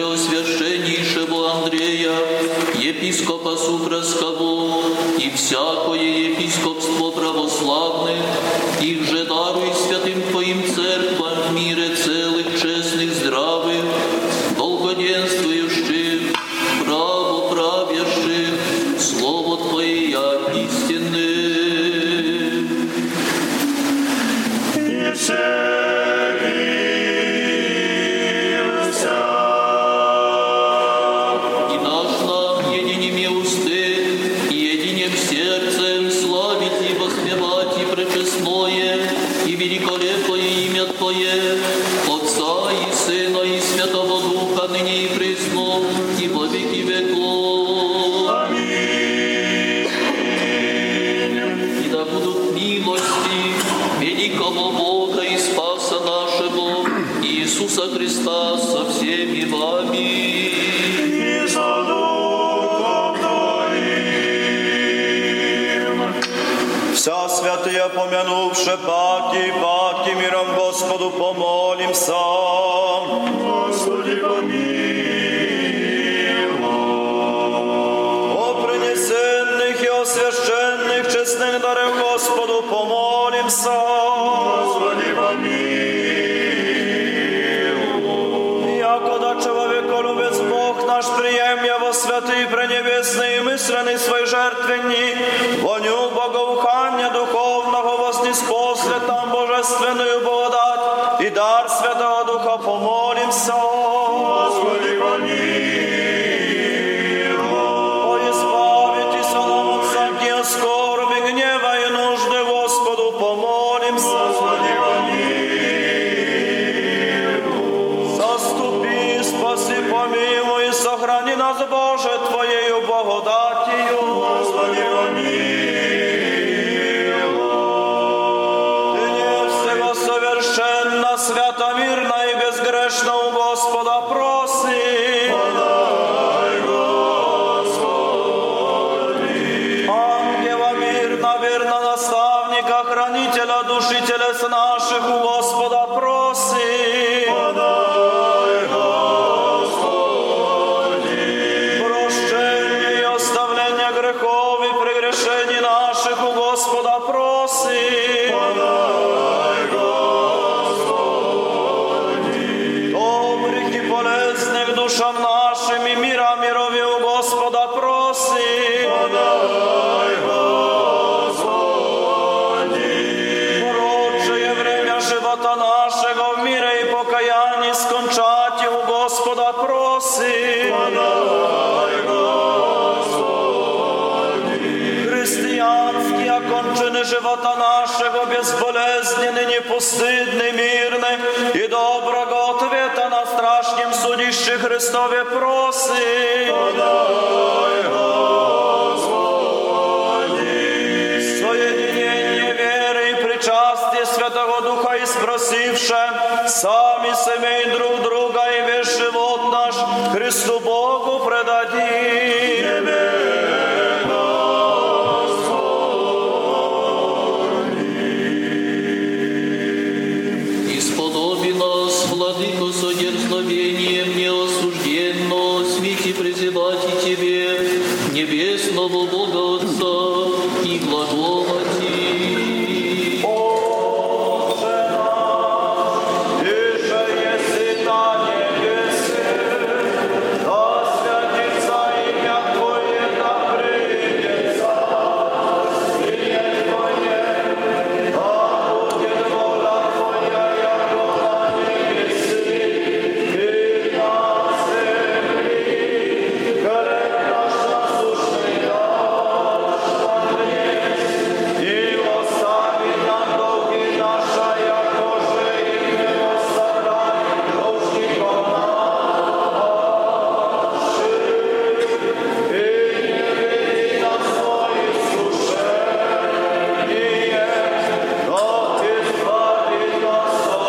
преосвященнейшего Андрея, епископа Супровского, и всякое епископство православных, их же даруй святым Твоим церквам в мире целых, честных, здравых, долгоденствующих, правоправящих, Слово Твое истинное. И наш нам единими усты, единим сердцем славить и воспевать и пречестное, и великолепное имя Твое, Отца и Сына и Святого Духа, ныне и присно, и во веки веков. Аминь. И да будут милости великого Бога и Спаса нашего, Иисуса Христа, со всеми вами. И за Духом Твоим. Вся святые помянувши паки миром Господу помолимся. Господи, помилуй. О принесенных и освященных честных даров Господу помолимся. Господи, помилуй. Якода человеколюбец Бог наш прием его святый, пренебесный и мысленный свой жертвенник, воню благоухания духовного вознеспосле там сына, верно наставника, хранителя души телес наших, у Господа проси. Подай, Господи. Прощение и оставление грехов и прегрешений наших, у Господа проси. Подай, Господи. Добрых и полезных душам нашим и мира мирови, у Господа проси. Подай, Господи. Прочее время живота нашего в мире и покаянии скончать, у Господа проси. Подай, Господи. Христианские окончины живота нашего безболезненны, непостыдны, мирны и доброго ответа на страшнем судище Христове проси. Подай, Господи. Соединение веры и причастие Святого Духа и спросивше сами семей друг друга и весь живот наш Христу Богу предадим. Исподоби нас, Владыко, содерзновением неосужденно, свети призывать и Тебе, небесного Бога Отца, и глаголати. Иже еси на небесе, да святится имя Твое, да придет Царствие Твое, да будет воля Твоя, яко на небеси и на земли. Хлеб наш насущный дашь нам днесь, и остави нам долги наши, яко же и мы оставляем должников наших. И не веди нас в искушение, но избави нас от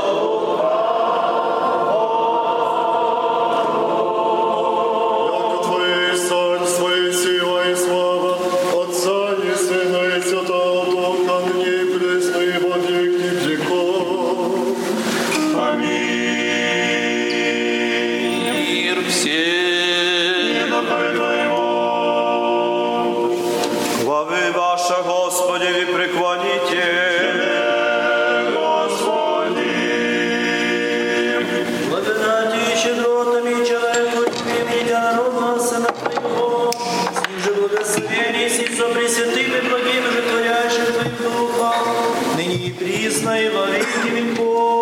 Яко Твое царство и сила и слава Отца и Сына и Святого Духа, ныне и присно и во веки веков. Аминь. Мир всем. Главы ваши, Господи, ви преклоните. Благодати и щедротами человеку любимым единородного Сына Твоего, с ним же благословение и со пресвятым и благим же творящим Твоим Духом, ныне и присно и во веки веков.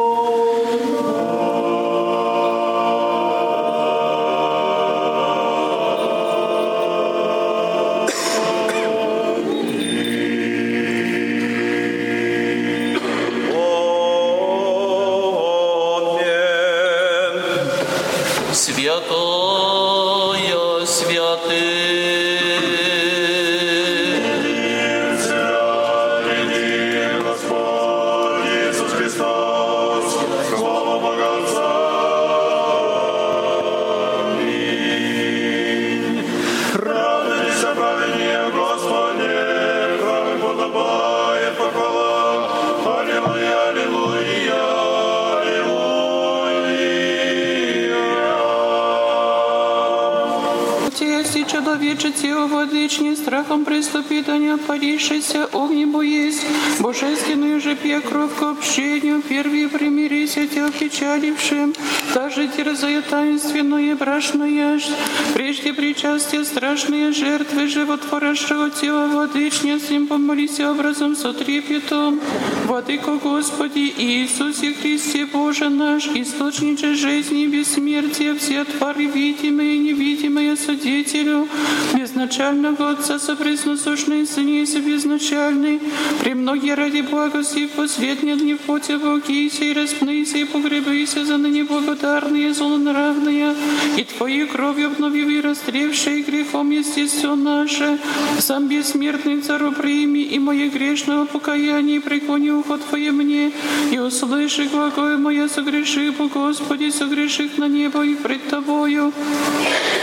Святая, святый. Господь Иисус Христос, слава Бога Отца. Аминь. Радуйся, праведнее, Господи, правым подобает похвала. Аллилуйя, аллилуйя, аллилуйя. Если человечице владычни страхом преступитания парившийся огнебу есть, божественную же пья кровь к общению, первые примирися тел печалившим, даже дерзая таинственное брашное, прежде причастия страшные жертвы животворящего тела владычни, с ним помолись образом с трепетом. Владыко Господи Иисусе Христе Боже наш, источниче жизни и бессмертия, все твари видимые и невидимые Судителю, безначального Отца сопресносущный Сыне и безначальный, премногие ради благости в последние дни в поте Богися и распнися и погребися за ныне благодарные, злонравные, и Твоей кровью обновив и растревшие грехом естество наше, сам бессмертный Цару прими и мое грешного покаяния, преклони ухо Твое мне, и услыши глаголь моя, согреши, Господи, согреших на небо и пред Тобою.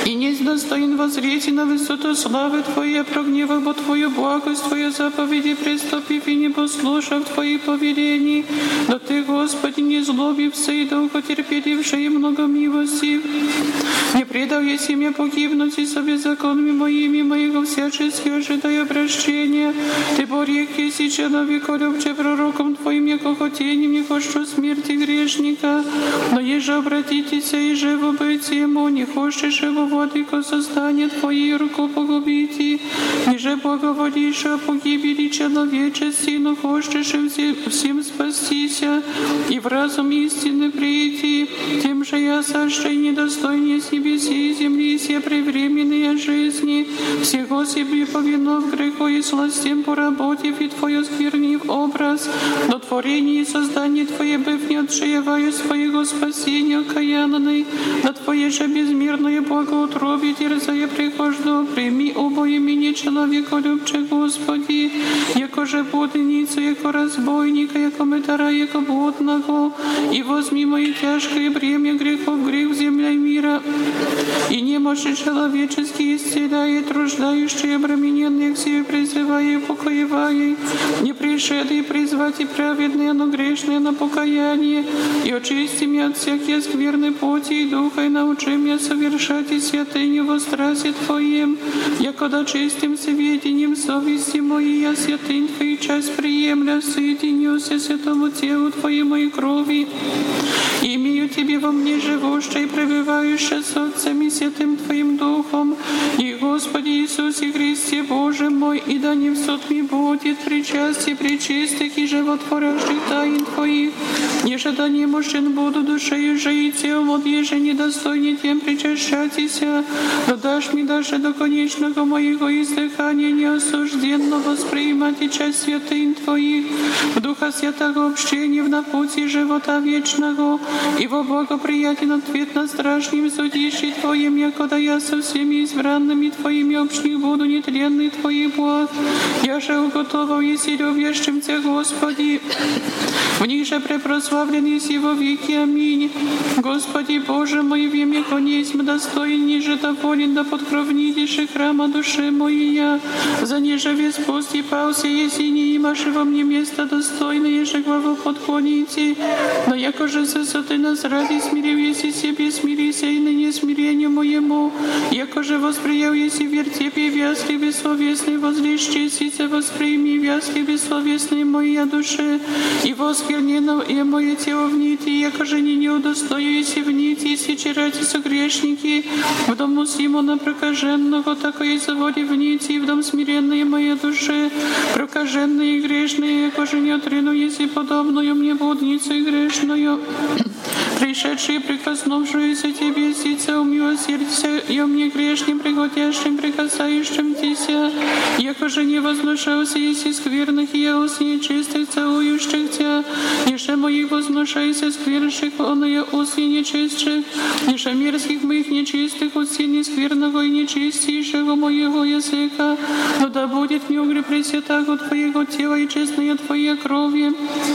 и несть достоин воззреть на высоту славы Твоей, прогневав бо Твою благость, Твою заповеди, приступив и не послушав Твоих повелений. Но Ты, Господи, не злобився и долго терпеливший и много милостив. Не предал я семя погибнуть и со беззаконными моего всячески ожидая прощения. Ты борек еси человека, любче пророком Твоим, яко хотением не хочу смерти грешника. Но еже обратитесь и живо быть ему, не хочешь его владыко создание Твоей руку погубите. Ниже благоволишь о погибели человечести, но хочешь всем спастися и в разум истины прийти. Тем же я сошли недостойнее с небеси и земли, все превременные жизни, всего себе повинов греху и сластям поработив и Твою сквернив образ, но творение и создание Твое быв не отшиваю своего спасения каянной, на Твое же безмерное благоутробие терзая прихожду, прими обои меня человека любче, Господи, яко же блудницу, яко разбойника, яко мытара, яко блудного, и возьми мои тяжкое бремя грехов, грех земля мира, и немощи человеческие исцеляет, труждающие обремененные к себе призывая и покоевая, не пришедшие призвать и праведные, но грешные на покаяние, и очисти меня от всякие скверны плоти и духа, и научи меня совершать и святыню во страсти Твоем, якода чистым сведением совести моей, я святынь Твоей часть приемля, соединюся святому телу Твоему и крови. Имею Тебе во мне живущее и пребывающее с Отцем и Святым Твоим Духом, и Господи Иисусе Христе Боже мой, и да не в суд ми будет причастие пречистых и животворящих тайн Твоих, еже да немощен буду душею же и телом, от еже недостойнее тем причащатися, но дашь мне даже до конечного моего издыхания неосужденно воспринимать и часть святынь Твоих, в Духа Святого общения в напутии живота вечного, и во благоприятен ответ на страшном судище Твоем, якода я со всеми избранными Твоими общих буду нетленный Твоих благ. Я же уготовал, если любящим Тебя, Господи, в них же препрославлен еси во веки. Аминь. Господи Боже мой, в имя конесьм достоин, ниже доволен, да подкровнитейший храма души моей я, за ниже вес пусть и пался, если не имашь во мне место достойное, еже главу подклоните, но яко же ты нас ради смирил, если себе смирися, и ныне смирению моему, яко же восприял, если вертепе вязли бессловесный, возлещися восприми вязли бессловесные моя душе, и восквернено и мое тело в нити, яко же не удостою, если в нити, если чарати согрешники, в дому Симона прокаженного, такое заводи в нити, и в дом смиренной моей душе, прокаженные и грешные, яко же не отрену, если подобную мне блудницу и грешную. Пришедшие, прикоснувшиеся Тебе, сица умилосердься, и о мне грешным, пригодящим, прикасающимся, яко же не возношался, если скверных, и я ус нечистых, целующих Тебя, ниже моих возношайся, сквернших, он и ус нечистых, ниже мерзких моих нечистых, ус скверного и нечистейшего моего языка, но да будет мне угре пресвятаго Твоего тела и честная Твоя крови.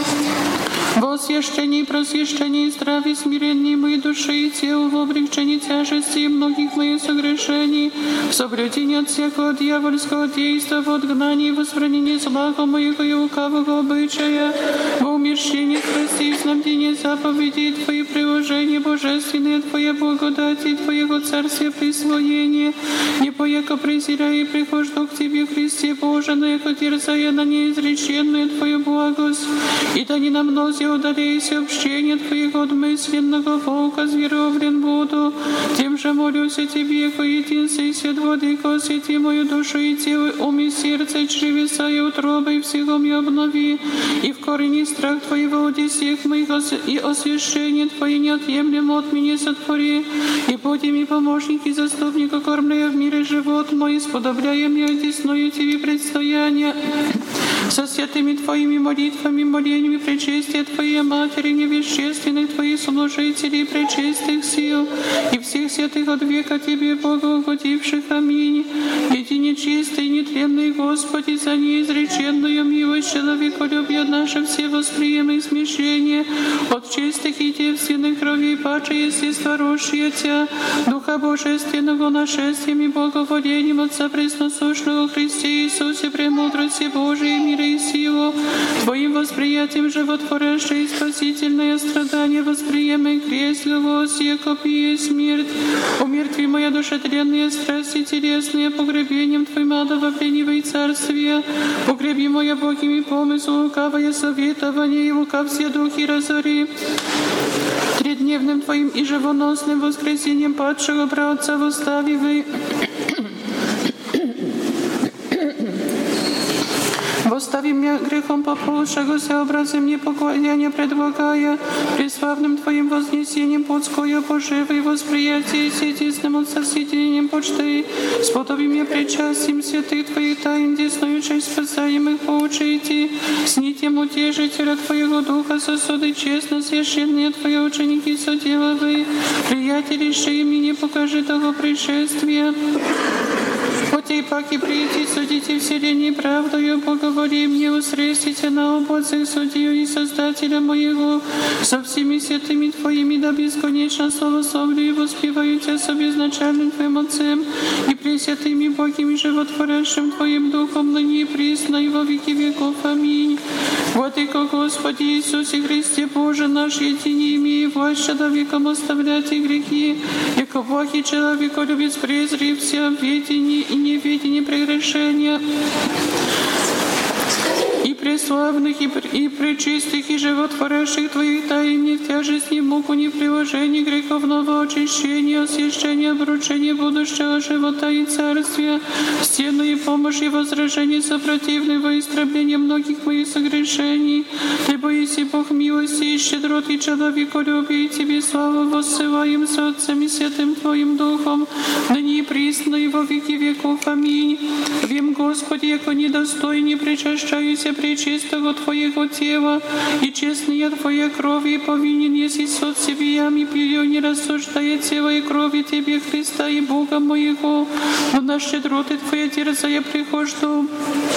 Во освящении, просвящении, здравии, смирении моей души и тела, в облегчении тяжести и многих моих согрешений, в соблюдении от всякого дьявольского действа, в отгнании и восхранении злого моего и лукавого обычая, во умерщении страстей, в снабдении заповедей Твои приложения божественные, Твоя благодать и Твоего царствия присвоение, не пояко презирая и прихожду к Тебе, Христе Боже, но яко терзая на неизреченную Твою благость, и да не намнози удаляйся общение Твоего от мысленного волка, зверовлен буду. Тем же молюсь о Тебе, яко единстве и свет владыко, освети мою душу и тело, ум и сердце, и чревеса и утробы, и всего мне обнови, и в корени страх Твоего от всех моих и освящение Твое неотъемлемо от меня сотвори, и будь ми помощник и заступник, окормляя в мире живот мой, сподобляя мне одесную Тебе предстояние. со святыми Твоими молитвами, молениями пречестия Твоей Матери, невещественных Твоих служителей, пречестных сил и всех святых от века Тебе, Богу угодивших. Аминь. Едине чистый, нетленный Господи, за неизреченную милость человеколюбия наше все восприемы смешение от чистых и девственных кровей паче естества росшие Тя, Духа Божественного нашествием и благоволением Отца Пресносущного Христе Иисусе, премудрости Божией, мира и силу, Твоим восприятием животворящее и спасительное страдание восприемы крест Голос, яко и смерть. Умертви моя душа тленные страсти телесные, погребением Твоим адово пленивой царствия. Погреби моя Богими помыслу, лукавое советование и лукав все духи разори. Тредневным Твоим и живоносным воскресением падшего братца восставивай. Восстави меня грехом поползшегося, образом непоклоняния предлагая, преславным Твоим вознесением подское поживы и восприятие сетисным от соседением почты, сподоби меня причастием святых Твоих тайн, десною честь спасаемых поучите, с нитем утешителя Твоего Духа сосуды честно священные Твои ученики соделовы, приятелиши мне покажи того пришествия. Хотей паки прийти, судите вселенной правдою, поговори мне, усрестите на обоцах судью и Создателя моего, со всеми святыми Твоими да бесконечно славословлю и воспеваю Тебя со безначальным Твоим Отцем и пресвятыми Богими животворящим Твоим Духом, ныне и присно и во веки веков. Аминь. Владыко Господи Иисусе Христе Боже наш, едине имея власть человеком оставлять и грехи, яко благий человеколюбец презри все ведение и неведение прегрешения, и преславных, и пречистых, и животворящих Твоих тайн, не в тяжесть, ни в муку, ни в приложении греховного очищения, освящения, обручения будущего живота и царствия, стену и помощь и возражение сопротивного истребления многих моих согрешений. Ты боись, Бог милости и щедрот и человеколюбия, и Тебе славу воссылаем с Отцем и Святым Твоим Духом, ныне и присно и во веки веков. Аминь. Вем, Господи, яко недостойне причащаюся пречистого Твоего тела, и честная Твоя кровь, и повинен еси сот себиями пью, не рассуждая тело и крови Тебе, Христа и Бога моего, но на щедроты Твоя дерзая прихожду.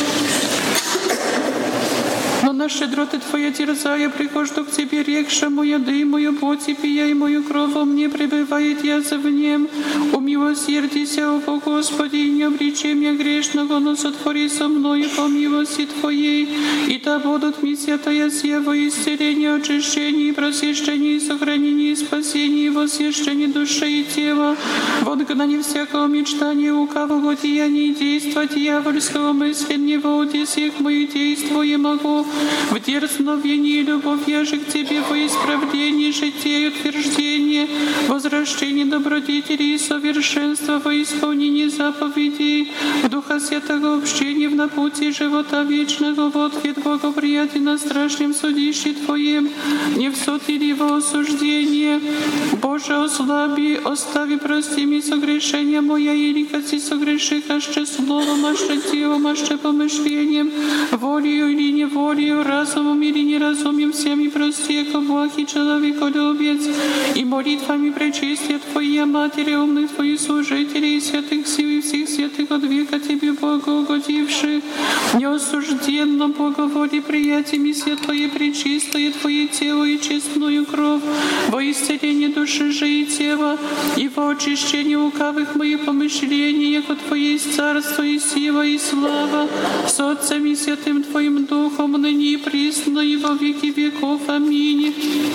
Но на щедроты Твоя дерзая прихожду к Тебе, рекшему яды мою плоть и пия, и мою кровь во мне пребывает язв в нем. Умилосердися, о Господи, и не обречи меня грешного, но сотвори со мною по милости Твоей, и да будут ми святая сева, исцеление, очищение, просвещение, сохранение, спасение, и восвящение души и тела, в отгнании всякого мечтания, лукавого деяния и действа дьявольского мысленного, уди всех моих действий могу, в дерзновении любовь я же к Тебе во исправлении жития и утверждение, возвращение добродетелей и совершенства во исполнении заповедей, в Духа Святого общения в напутии живота вечного, в ответ благоприятия на страшном судище Твоем, не в суд или во осуждение. Боже, ослаби, остави, прости ми согрешения моя, или коси согреших, аще словом, аще телом, аще помышлением, волею или неволею, разумом или неразумием, всеми прости, яко благий человеколюбец, и молитвами пречистия Твоя Матери, умных Твоих служителей и святых сил и всех святых от века Тебе, Богу угодивших, неосужденно благоволи приятиями святое пречистое Твое тело и честную кровь, во исцеление души же и тела, и во очищение лукавых моих помышлений, яко Твое есть царство и сила и слава, с Отцем и Святым Твоим Духом, ныне и присно и во веки веков. Аминь.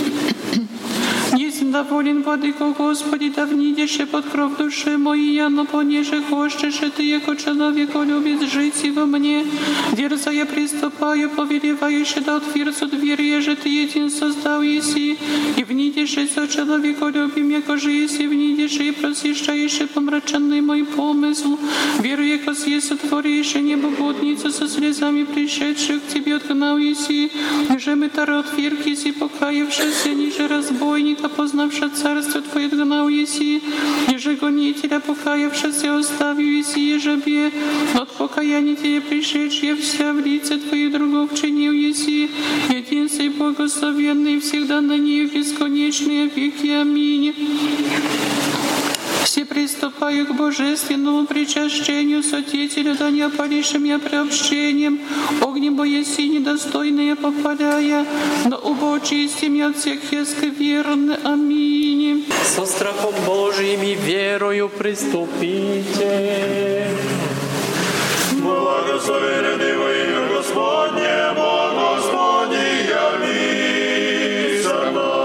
Есть доволен, Владыко Господи, да внидеше под кровь души моей, но понеже хочешь, Ты, яко человеколюбец, жить и во мне. Дерза я приступаю, повелевающе да отверцу дверь, еже Ты един создал еси, и внидеше со человеколюбием, яко же еси внидеше и просвещаеше помраченный мой помысл. Веру, яко сие сотворише небогодницу со слезами пришедших к Тебе отгнал еси, ниже мытара отверг еси, покаявшийся, ниже разбойника познал познавши царство Твое, гнал еси, еже гонителя, покаявшися, оставил еси ежебе, но от покаяния Тебе пришедшие вся в лице Твоих другов чинил еси, единствый благословенный всегда на ней в бесконечные веки. Аминь. Все приступаю к божественному причащению, Святителю, да не опалишем я приобщением, огнем бояси недостойные попаляя, но убочистим я от всех скверны. Аминь. Со страхом Божиим и верою приступите. Благословен Ты во имя Господне, Бог Господний, явися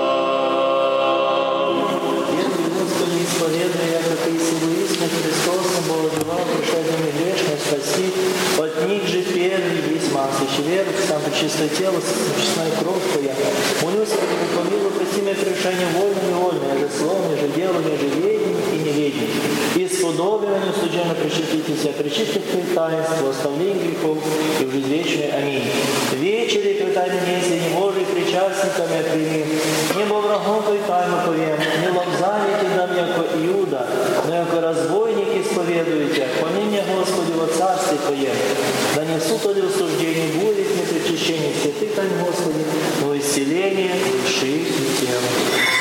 нам. Веруй, Господи, исповедуй, яко Ты силуисный Христосом, Божевал, пришедшими грешно спаси, от них же первый весь маслящий веру, сам пречистое тело, честная кровь Твоя. Молюсь, Господи, помилуй, прости мне прегрешение вольным и вольным, же словом, же делом, же ведением и неведением. И сподобиванию служебно причаститесь, причистив Твои таинства, оставление грехов и в жизнь вечную. Аминь. Вечери предай мне, среди Божий причастниками прими, небо врагом Твой тайну повем, не лобзание Ти дам, яко Иуда, но яко разбойник исповедуете, помилуй, Господи, во царстве Твоем, да не в суд или в суждении будет не причащение святых тайн, Господи, но исцеление души и тела.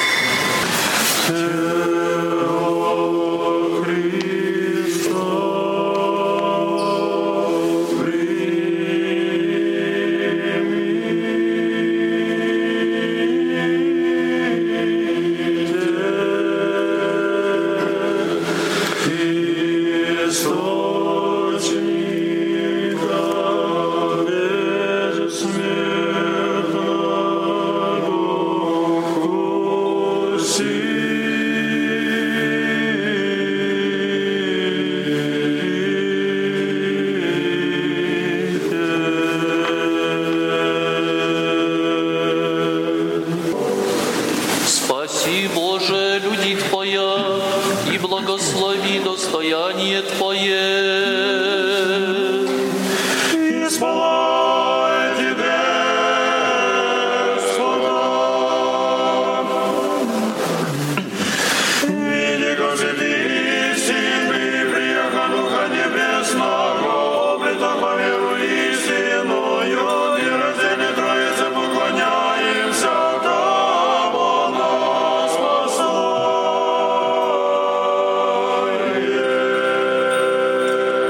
Спаси, Боже, людей Твоя, и благослови достояние Твое. Исполай Тебе, Господа. Види, как Ты истинный, приеха Духа Небесного, облита по веру истинною, и раздельной Троице поклоняемся Тобу, нас спасай.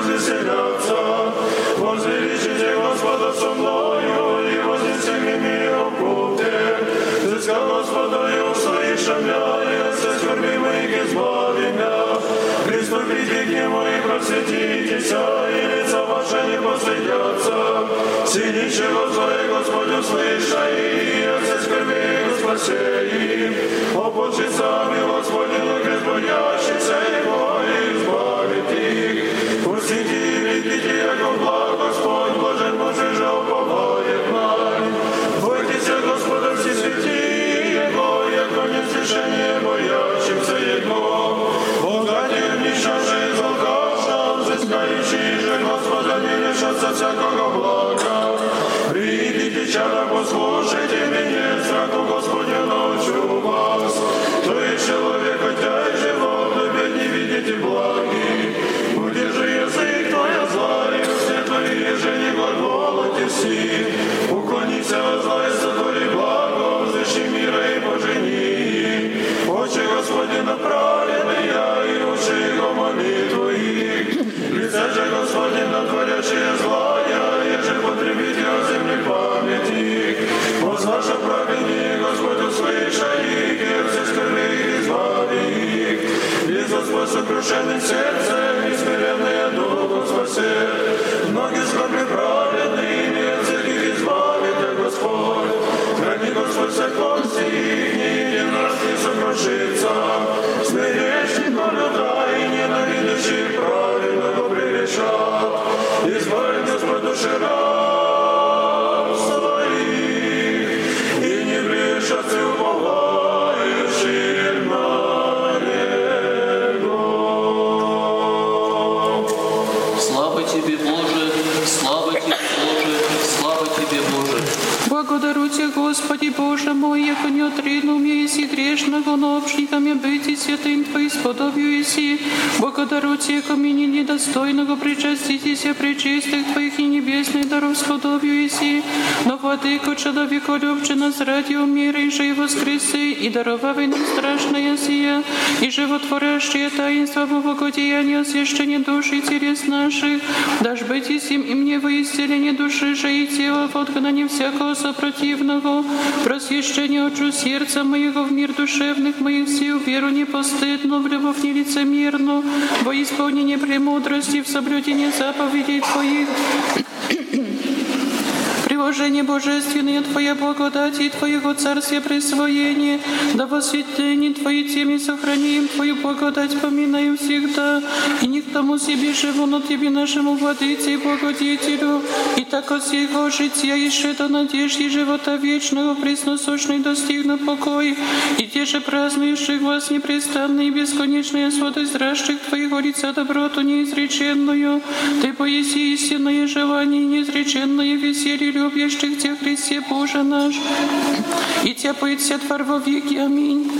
развеселятся. Возвеличите Господа со мною, и вознесем мир в купе. Взыска Господа и услышим я, и все скорби моих избави меня. Приступите к Нему и просветитесь, и лица ваши не постыдятся. Синичего злое Господь услыша, и все скорби спаси. Опочится Господину безбоящийся Его, и избавит их. Пустите и видите, яко благ Господь, блажен Божий же уповает нам. Бойтесь Господа все святые Его, яко неслышание боящимся Его. Богатые нищие из алкаша, взыскающие же Господа не лишатся всякого блага. Придите, чада, послушайте меня, страху Господню научу вас. То есть человек, хотя и живот, опять не видите благи. Удержи язык твой от зла, и все твои же не глаголоте все. Уклонись от зла и сотвори благо, взыщи мира и пожени. Очи Господи направленные, и уши Его молитву их. Лице же Господи натворящие злая, еже потребите о земле память их. Возваша праведни, Господь услыша их, и все скорби их избави их. И Господь сокрушенный сердцем, и смиренные духом спасет. Ноги скорби праведными, от всех их избавит, а Господь. Храни Господь всех кости их, ни един раз не сокрушится. Смирящий города и ненавидящий праведного превещат. Избавит Господь души раб своих, и не брешатся уповающие на Него. Слава Тебе, Боже, слава Тебе, Боже, слава Тебе, Боже. Благодарю Тебя, Господи Боже мой, яко не отринул мне еси грешного, но общниками быть и святым Твоим сподобию еси. Благодарю Тебя, яко мне недостойного причаститеся пречистых Твоих и небесных даров сподобию еси. Но владыко человеколюбче нас ради умира и же и воскресы, и даровавай нам страшное сия, и животворящее таинство во благодеяние освящения души и телес наших. Дашь быть и сим и мне во исцеление души же и тела, в отгнании всякого сопротивного, просвещение очу сердца моего в мир душевных моих сил, веру непостыдно, в любовь нелицемерно, во исполнение премудрости, в соблюдение заповедей Твоих. Приложение божественное Твоя благодать и Твоего царствия присвоение, да во святыне Твои теми сохраним Твою благодать, поминаем всегда, и не к тому себе живу, но Тебе нашему владыце и благодетелю, и так от всего жития еще до надежды живота вечного пресносущный достигну покой, и те же празднующих вас непрестанно и бесконечные святость зращих Твоего лица доброту неизреченную, Ты поеси истинное желание и неизреченное веселье любящих Тебя, Христе Боже наш, и Тебя поется твор во веки. Аминь.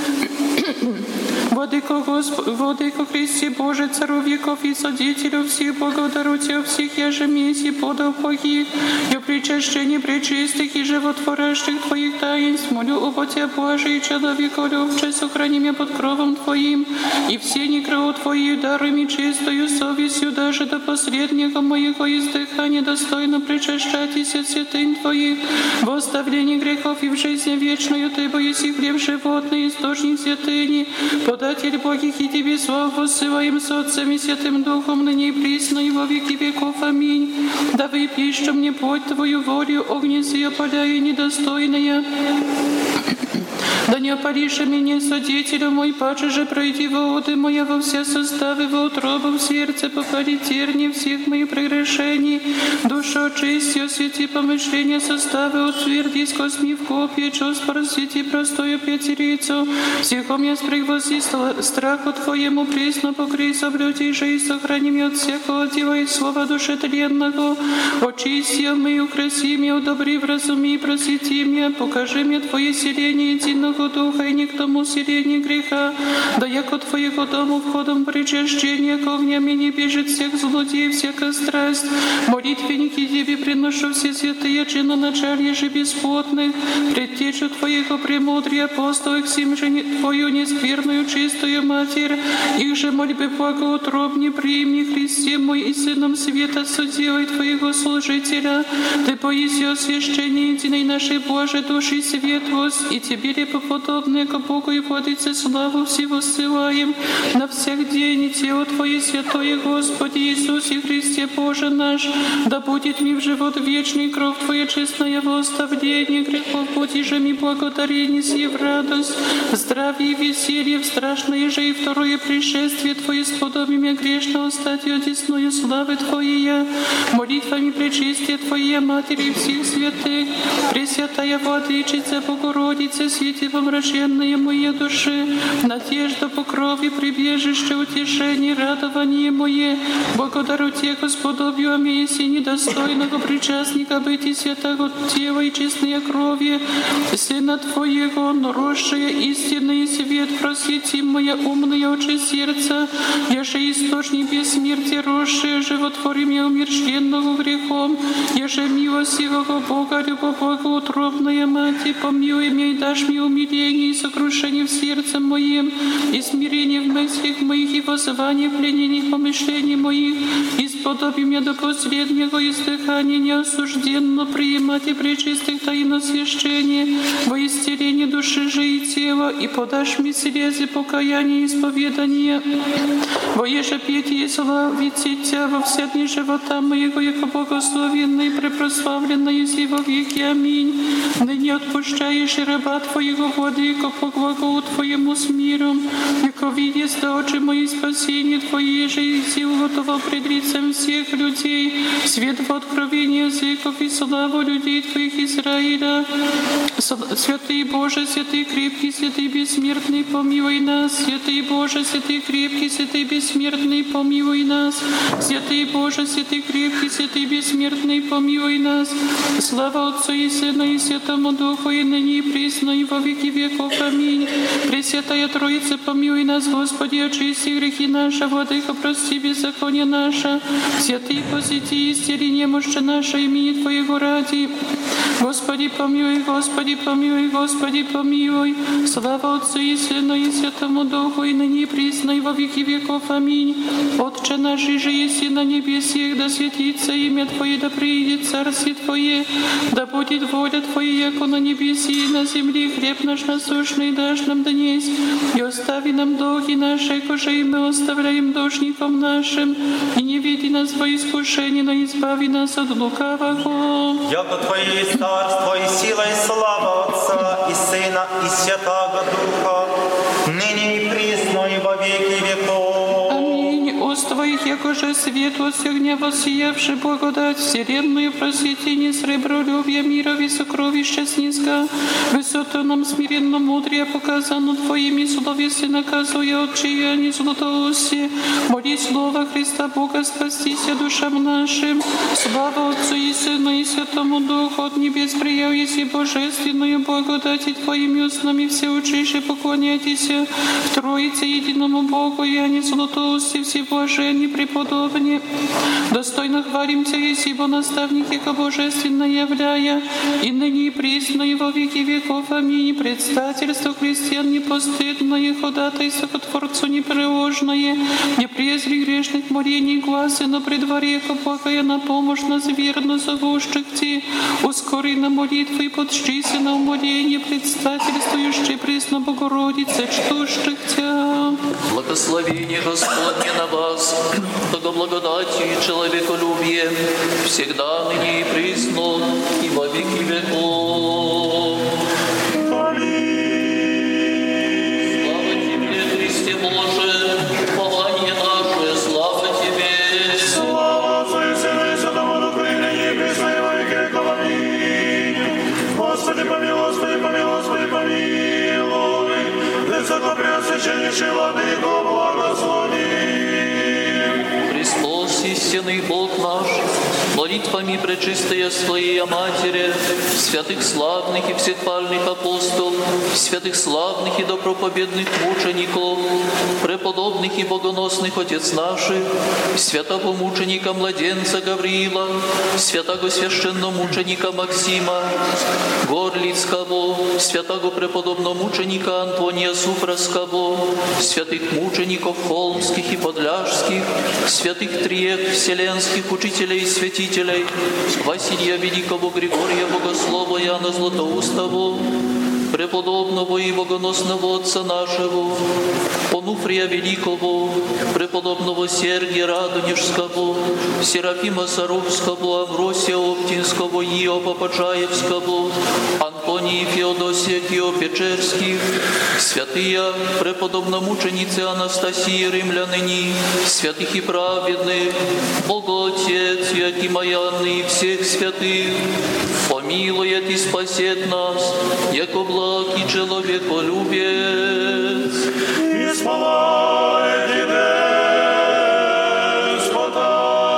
Владыко Христе Боже, Цару веков и Содителю всех, благодарю Тебя всех, я же месси подал погиб, и о причащении пречистых и животворящих Твоих таинств, молю оба Тебя, Боже, и человеколюбче, сохрани меня под кровом Твоим, и все некроу Твои дарами чистою совестью, даже до последнего моего издыхания достойно причащайтесь святынь Твоих, в оставлении грехов и в жизни вечную Ты, бо еси хлеб животный, источник святыни, податель Богих, и Тебе славу ссылаем с Отцем и Святым Духом, ныне и присно, и во веки веков. Аминь. Да выпищу мне плоть Твою волю, огне сия опаляя недостойная. Да не опалишь меня, Содителю мой, паче же пройди воды моя во все составы, во утробу в сердце, попади терни всех моих прегрешений. Душу очисти, освети помышления составы, утверди скосми в копье, чувств просвети простою пятерицу. Всехом я спрягвози страху Твоему присно покрий, соблюди же и сохрани меня от всякого дела и слова душетленного. Очисти меня, украси меня, удобри, вразуми, просвети меня, покажи мне Твое селение единого Твоего Духа и не к тому усилению греха, да яко Твоего дому входом причащения к огнями не бежит всех злодеев, всякая страсть. Молитвенники Тебе приношу все святые чиноначалья же бесплотных, предтечу Твоего премудрия апостолов, всем же Твою нескверную чистую Матерь, их же мольбы благоутробне приими, Христе мой и Сыном света, судьей Твоего служителя. Ты поиси о священии единой нашей Божией души светлость, и Тебе репоподобные к Богу и Владыце славу всего ссылаем на всех день, и тело Твое святое, Господи Иисусе Христе Боже наш, да будет ми в живот вечный, кровь Твоя честная во оставление грехов, будь же ми благодарение сей в радость, в здравие и веселье, в страшное же и второе пришествие Твое сподобие грешного стать одесную славы Твоей, молитвами пречистия Твоей Матери всех святых, Пресвятая Владычица, Богородица, свети помраченные моей души, надежда, покрове, прибежище, утешение, радование мое, благодарю Тебе, Господовью, аминь, и недостойного причастника быть и святого тела и честной крови, Сына Твоего, наросшая истинный свет, просвети моя умная очи сердца, еже источник бессмертия, росшая, животвори меня умерщенного грехом, еже милостивого Бога, любовь благоутробная Мать, помилуй меня и дашь мне умиление и сокрушение в сердце моем, и смирение в мыслях моих, и воззвание в пленениях помышлений моих, и сподоби меня до последнего издыхания неосужденно приимать и пречистых таин освящения во исцеление души же и тела, и подашь мне слезы покаяния и исповедания, во еже петь и славить Тебя во все дни живота моего, яко благословенный и препрославленный и во веки. Аминь. Ныне отпущаешь и раба Твоего, Владыко, по глаголу Твоему с миром, яко видишь да очи мои спасение Твое, же и силу готово пред лицем всех людей, свет в откровении языков и славу людей Твоих Израиля. Святый Боже, святый крепкий, святый бессмертный, помилуй нас. Святый Боже, святый крепкий, святый бессмертный, помилуй нас. Святый Боже, святый крепкий, святый бессмертный, помилуй нас. Слава Отцу и Сыну и Святому Духу, и ныне и присно, и во веки веков. Аминь. Пресвятая Троица, помилуй нас, Господи, очисти грехи наши, Владыка, прости беззаконие наше. Святый посети, исцели немощи наше, имени Твоего ради. Господи, помилуй, Господи, помилуй, Господи, помилуй. Слава Отцу и Сыну и Святому Духу, и ныне и присно, и во веки веков. Аминь. Отче наш, же еси на небесах, да светится имя Твое, да приидет царствие Твое, да будет воля Твоя, яко на небесе и на земле. Хлеб наш насущный дашь нам днесь, и остави нам долги наши, коже и мы оставляем должникам нашим, и не веди нас во искушение, но избави нас от лукавого. Яко Твое есть царство и сила и слава Отца и Сына и Святаго Духа, ныне и присно и во веки веков. Уст Твоих, якоже светлость огня воссиявший благодать, вселенную просветение, сребролюбие, мирови, сокровища снизга, высоту нам смиренно мудрее показану Твоими словеси, наказуя отчаяние златоусие. Моли Слово Христа Бога, спастися душам нашим. Слава Отцу и Сыну и Святому Духу, от небес прияв еси божественную благодать, Твоими устами все учиши поклоняйтесь в Троице единому Богу, и они златоусие все блаженни, преподобни. Достойно хвалим Тебя, еси бо наставник, яко божественно являя, и ныне и присно, и во веки веков. Аминь. Предстательство христиан непостыдное, ходатайство ко Творцу непреложное, не презри грешных молений гласы, но при дворе, яко благая на помощь нас верно зовущих Ти. Ускори на молитвы и подщися на умоление, предстательствующие присно Богородице, чтущих Тебя. Благословение Господне на вас, благодатью и человеколюбием, всегда ныне и присно, и во веки веков. Слава Тебе, Христе Боже, упование наше, слава Тебе. Слава Отцу и Сыну и Святому Духу, и ныне и присно, и во веки веков. Аминь. Господи, помилуй, Господи, помилуй, Господи, помилуй. Высокопреосвященнейший Владыко, благослови. Христос есть истинный Бог наш, молитвами пречистая Своей Матери, святых славных и всехвальных апостолов, святых славных и добропобедных мучеников, преподобных и богоносных отец наших, святого мученика младенца Гавриила, святого священномученика Максима, Горлицкого, святого преподобного мученика Антония Супровского, святых мучеников холмских и подляжских, святых триек вселенских учителей и святителей, Василия Великого, Григория Богослова, Иоанна Златоустого, преподобного и богоносного отца нашего, Онуфрия Великого, преподобного Сергия Радонежского, Серафима Саровского, Амвросия Оптинского, Иова Почаевского, Антонии Феодосия Кио-Печерских, святые преподобномученицы Анастасии Римляныни, святых и праведных, Богоотец Иакима и Анны и всех святых, помилует и спасет нас, яко благ и человеколюбец. Исполняйте Господа.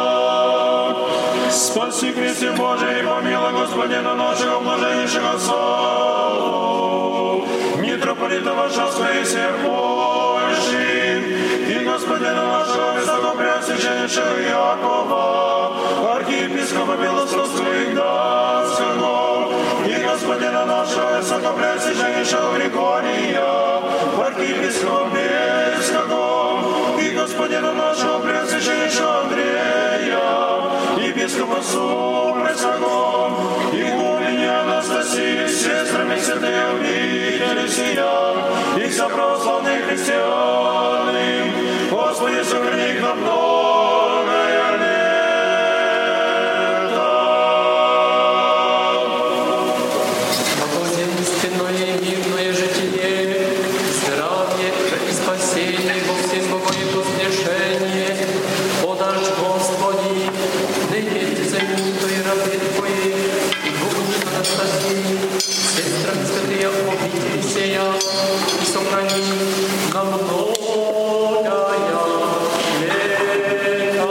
Спаси Христе Божий и помилуй Господина нашего блаженнейшего Савву, митрополита Варшавского и всех Польши, и Господина нашего высокопреосвященнейшего Якова, архиепископа Белостовского и Гданского, и Господина нашего высокопреосвященнейшего Григория, архиепископа Бельского, и Господина нашего преосвященнейшего Андрея, епископа Супровского, и гуляни Анастасии с сестрами святые обители сия, и вся православные христианы, Господи, сохрани их на многое лето. Благоденственное и мирное житие, здравие и спасение во всем богое воскрешение, подашь, Господи, ныне землей рабы Твои, и Богу Анастасии, сестрами святые обители сия, и сохрани на многое лето.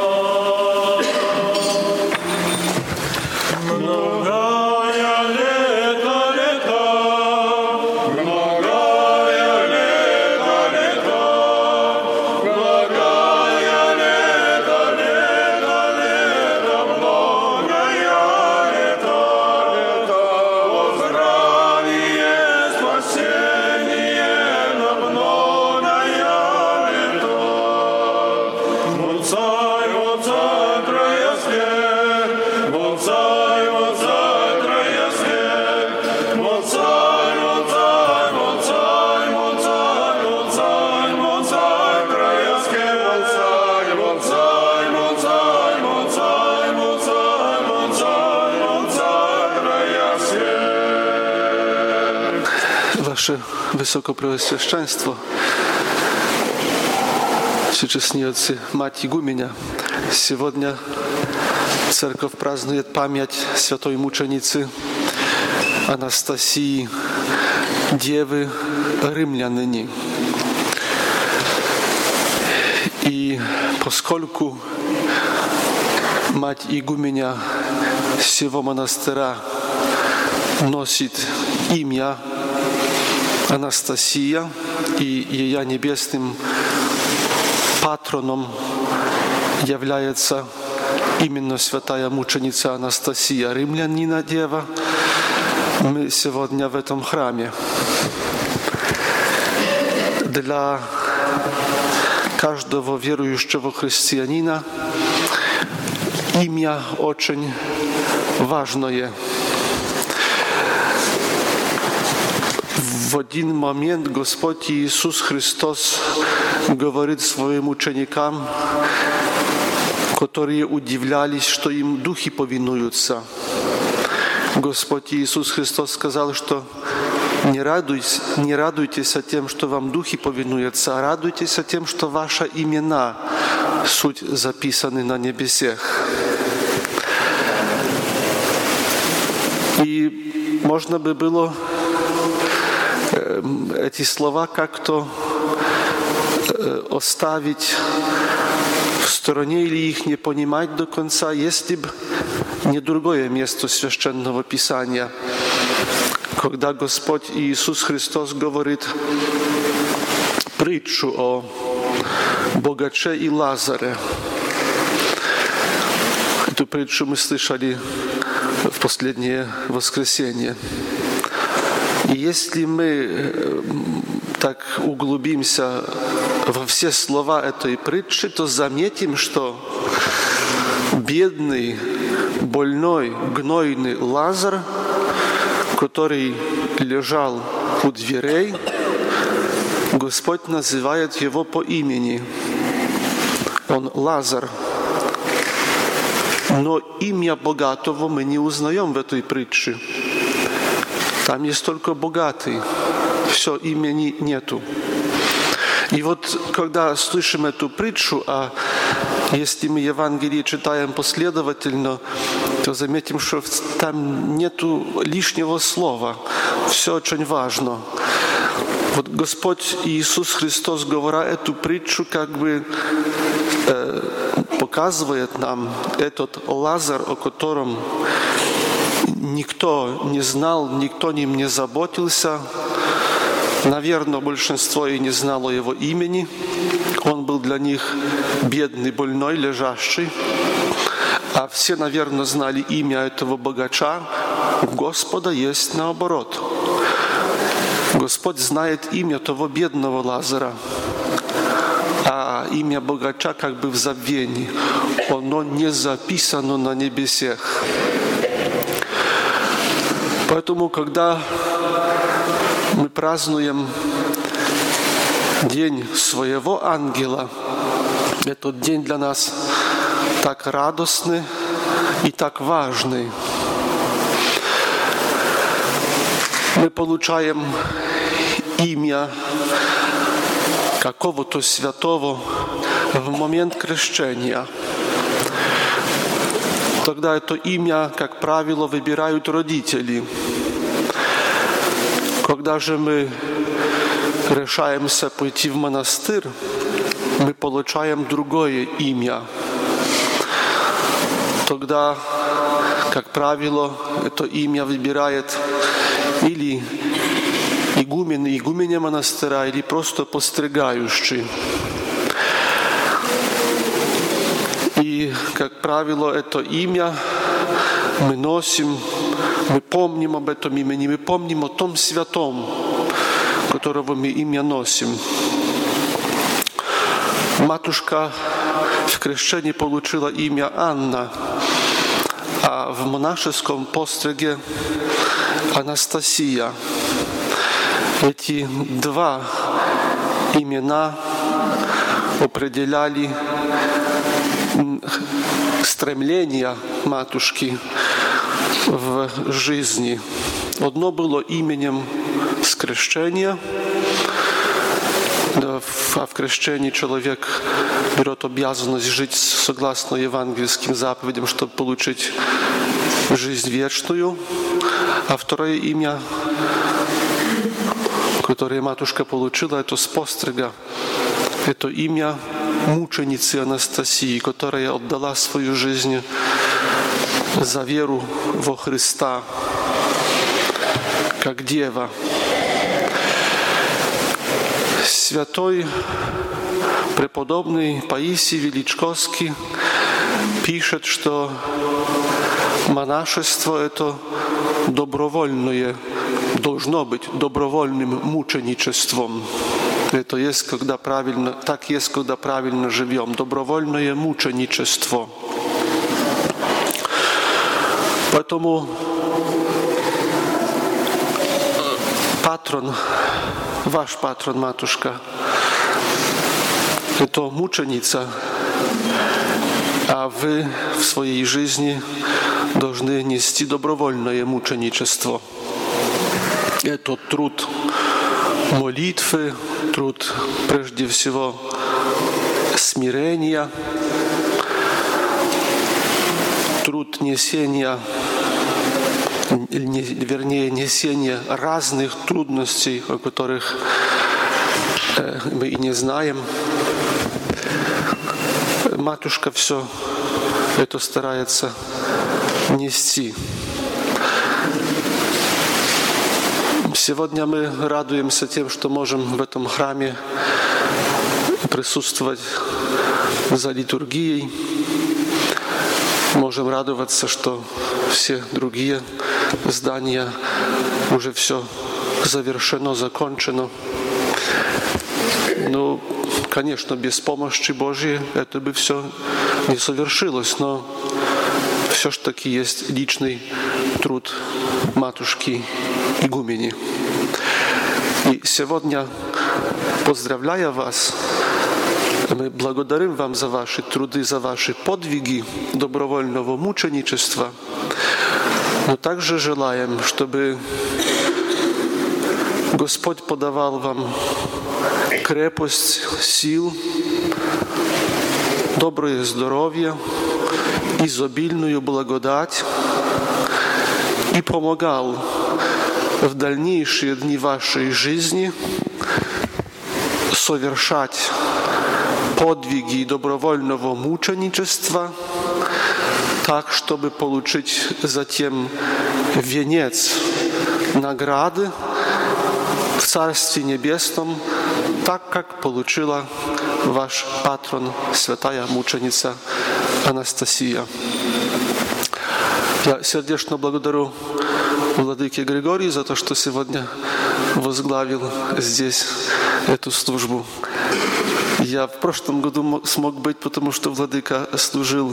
Ваше Высокопреосвященство, всечестные отцы, мать игуменя, сегодня церковь празднует память святой мученицы Анастасии, Девы Римляныни. И поскольку мать игуменя всего монастыря носит имя Анастасия, и ее небесным патроном является именно святая мученица Анастасия, римлянина Дева, мы сегодня в этом храме. Для каждого верующего христианина имя очень важное. В один момент Господь Иисус Христос говорит своим ученикам, которые удивлялись, что им духи повинуются. Господь Иисус Христос сказал, что не радуйтесь тем, что вам духи повинуются, а радуйтесь тем, что ваши имена суть записаны на небесах. И можно бы было эти слова как-то оставить в стороне или их не понимать до конца, если бы не другое место Священного Писания, когда Господь Иисус Христос говорит притчу о богаче и Лазаре. Эту притчу мы слышали в последнее воскресенье. И если мы так углубимся во все слова этой притчи, то заметим, что бедный, больной, гнойный Лазар, который лежал у дверей, Господь называет его по имени. Он Лазар. Но имя богатого мы не узнаем в этой притче. Там есть только богатый. Все, имени нету. И вот, когда слышим эту притчу, а если мы Евангелие читаем последовательно, то заметим, что там нету лишнего слова. Все очень важно. Вот Господь Иисус Христос, говоря эту притчу, как бы показывает нам этот Лазар, о котором никто не знал, никто ним не заботился. Наверное, большинство и не знало его имени. Он был для них бедный, больной, лежащий. А все, наверное, знали имя этого богача. У Господа есть наоборот. Господь знает имя того бедного Лазара, а имя богача как бы в забвении. Оно не записано на небесах. Поэтому, когда мы празднуем день своего ангела, этот день для нас так радостный и так важный. Мы получаем имя какого-то святого в момент крещения. Тогда это имя, как правило, выбирают родители. Когда же мы решаемся пойти в монастырь, мы получаем другое имя. Тогда, как правило, это имя выбирает или игумен, игуменя монастыря, или просто постригающий. И, как правило, это имя мы носим, мы помним об этом имени, мы помним о том святом, которого мы имя носим. Матушка в крещении получила имя Анна, а в монашеском постриге Анастасия. Эти два имена определяли стремления матушки в жизни. Одно было именем с крещения, а в крещении человек берет обязанность жить согласно евангельским заповедям, чтобы получить жизнь вечную. А второе имя, которое матушка получила, это с пострига. Это имя мученицы Анастасии, которая отдала свою жизнь за веру во Христа, как дева. Святой преподобный Паисий Величковский пишет, что монашество – это добровольное, должно быть добровольным мученичеством. Это есть, когда правильно, так есть, когда правильно живем. Добровольное мученичество. Поэтому патрон, ваш патрон, матушка, это мученица, а вы в своей жизни должны нести добровольное мученичество. Это труд молитвы, труд прежде всего смирения, труд несения, несения разных трудностей, о которых мы и не знаем. матушка все это старается нести. Сегодня мы радуемся тем, что можем в этом храме присутствовать за литургией. Можем радоваться, что все другие здания уже все завершено, закончено. Ну, конечно, без помощи Божьей это бы все не совершилось, но все ж таки есть личный труд матушки игумени. И сегодня, поздравляя вас, мы благодарим вам за ваши труды, за ваши подвиги добровольного мученичества, но также желаем, чтобы Господь подавал вам крепость сил, доброе здоровье, изобильную благодать и помогал в дальнейшие дни вашей жизни совершать подвиги добровольного мученичества так, чтобы получить затем венец награды в Царстве Небесном, так как получила ваш патрон, святая мученица Анастасия. Я сердечно благодарю владыке Григорию за то, что сегодня возглавил здесь эту службу. Я в прошлом году смог быть, потому что владыка служил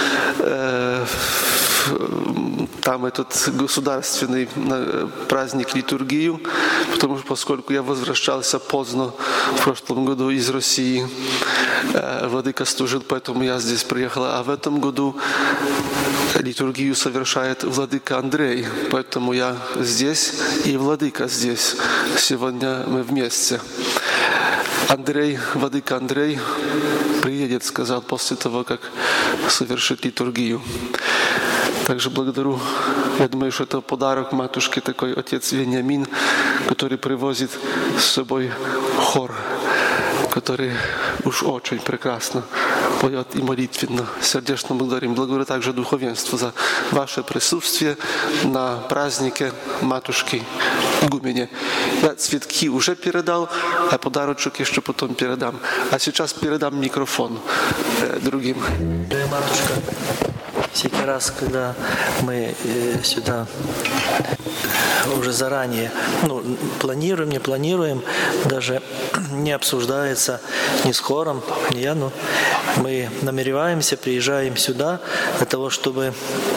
там этот государственный праздник, литургию, поскольку я возвращался поздно в прошлом году из России. Владыка служил, поэтому я здесь приехал. А в этом году литургию совершает владыка Андрей, поэтому я здесь и владыка здесь. Сегодня мы вместе. Андрей, владыка Андрей приедет, сказал, после того, как совершит литургию. Также благодарю, я думаю, что это подарок матушке, такой отец Вениамин, который привозит с собой хор, который уж очень прекрасно поет и молитвенно. Сердечно благодарим. Благодарю также духовенство за ваше присутствие на празднике матушки игумени. Я цветки уже передал, а подарочек еще потом передам. А сейчас передам микрофон другим. Матушка, всякий раз, когда мы сюда уже заранее планируем, не планируем, даже не обсуждается ни с хором, ни я, но мы намереваемся, приезжаем сюда для того, чтобы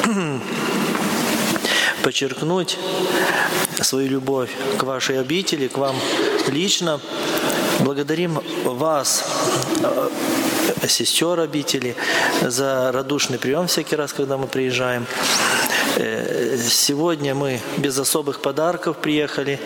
подчеркнуть свою любовь к вашей обители, к вам лично. Благодарим вас, сестер обители, за радушный прием всякий раз, когда мы приезжаем. Сегодня мы без особых подарков приехали.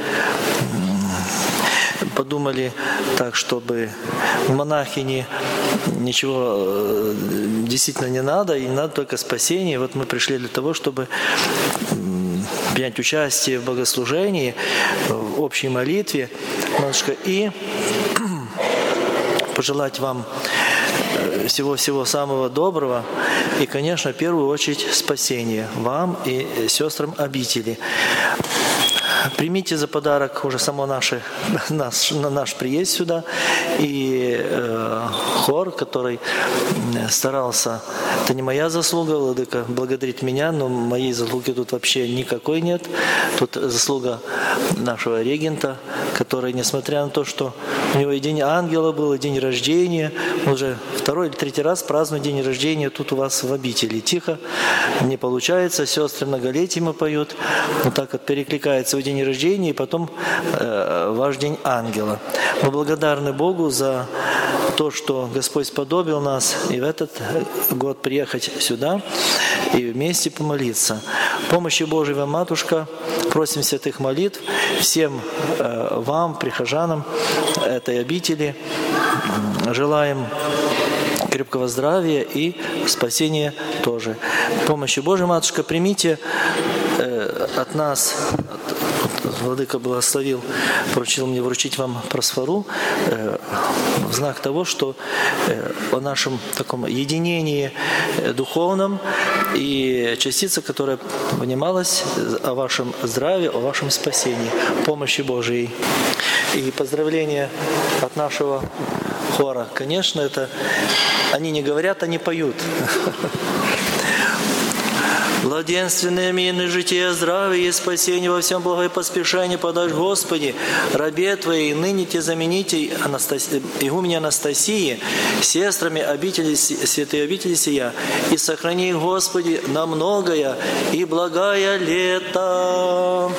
Подумали так, чтобы монахини ничего действительно не надо, и надо только спасение. Вот мы пришли для того, чтобы принять участие в богослужении, в общей молитве, матушка, и пожелать вам всего-всего самого доброго и, конечно, в первую очередь спасения вам и сестрам обители. Примите за подарок уже само наш приезд сюда и хор, который старался. Это не моя заслуга, владыка благодарит меня, но моей заслуги тут вообще никакой нет. Тут заслуга нашего регента, который, несмотря на то, что у него и день ангела был, и день рождения, он уже второй или третий раз празднует день рождения тут у вас в обители. Тихо, не получается, сестры многолетиями поют, вот так вот перекликается в день рождения и потом ваш день ангела. Мы благодарны Богу за то, что Господь сподобил нас и в этот год приехать сюда и вместе помолиться. Помощи Божией вам, матушка, просим святых молитв всем вам, прихожанам этой обители. Желаем крепкого здравия и спасения тоже. Помощи Божией, матушка, примите от нас, Владыка благословил, поручил мне вручить вам просфору в знак того, что о нашем таком единении духовном и частица, которая внималась о вашем здравии, о вашем спасении, помощи Божией. И поздравления от нашего хора. Конечно, это они не говорят, они поют. Благоденственное мирное житие, здравие и спасение во всем благое поспешение подашь, Господи, рабе Твоей, ныне Те замените игумене Анастасии, сестрами обители, святой обители сия, и сохрани, Господи, на многое и благое лето.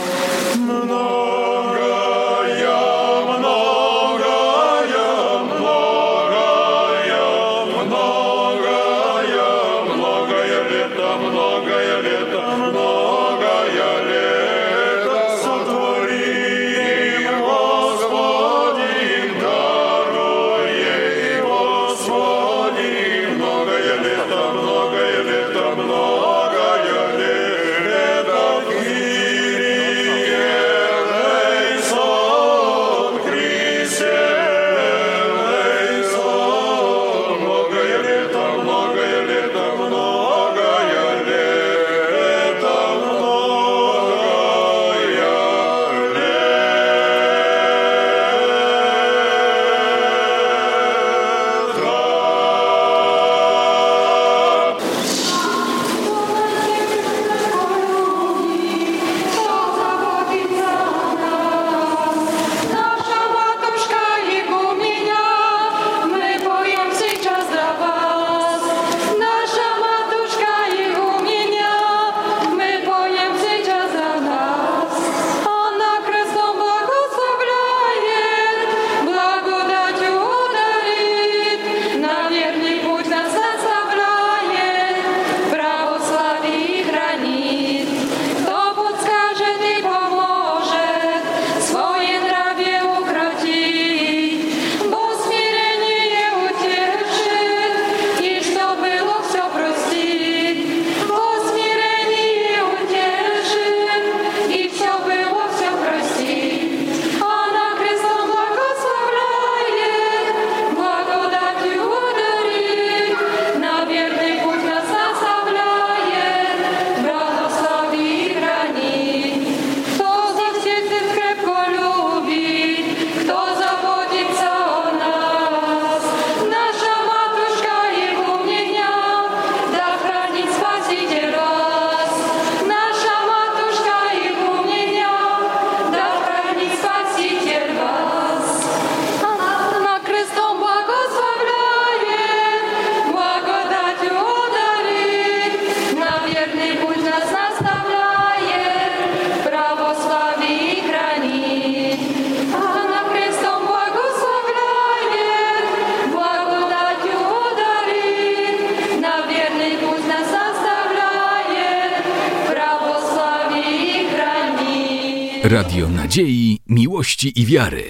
Radio Nadziei, Miłości i Wiary.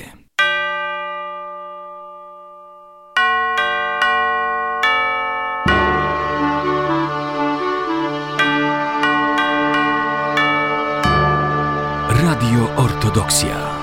Radio Ortodoksja.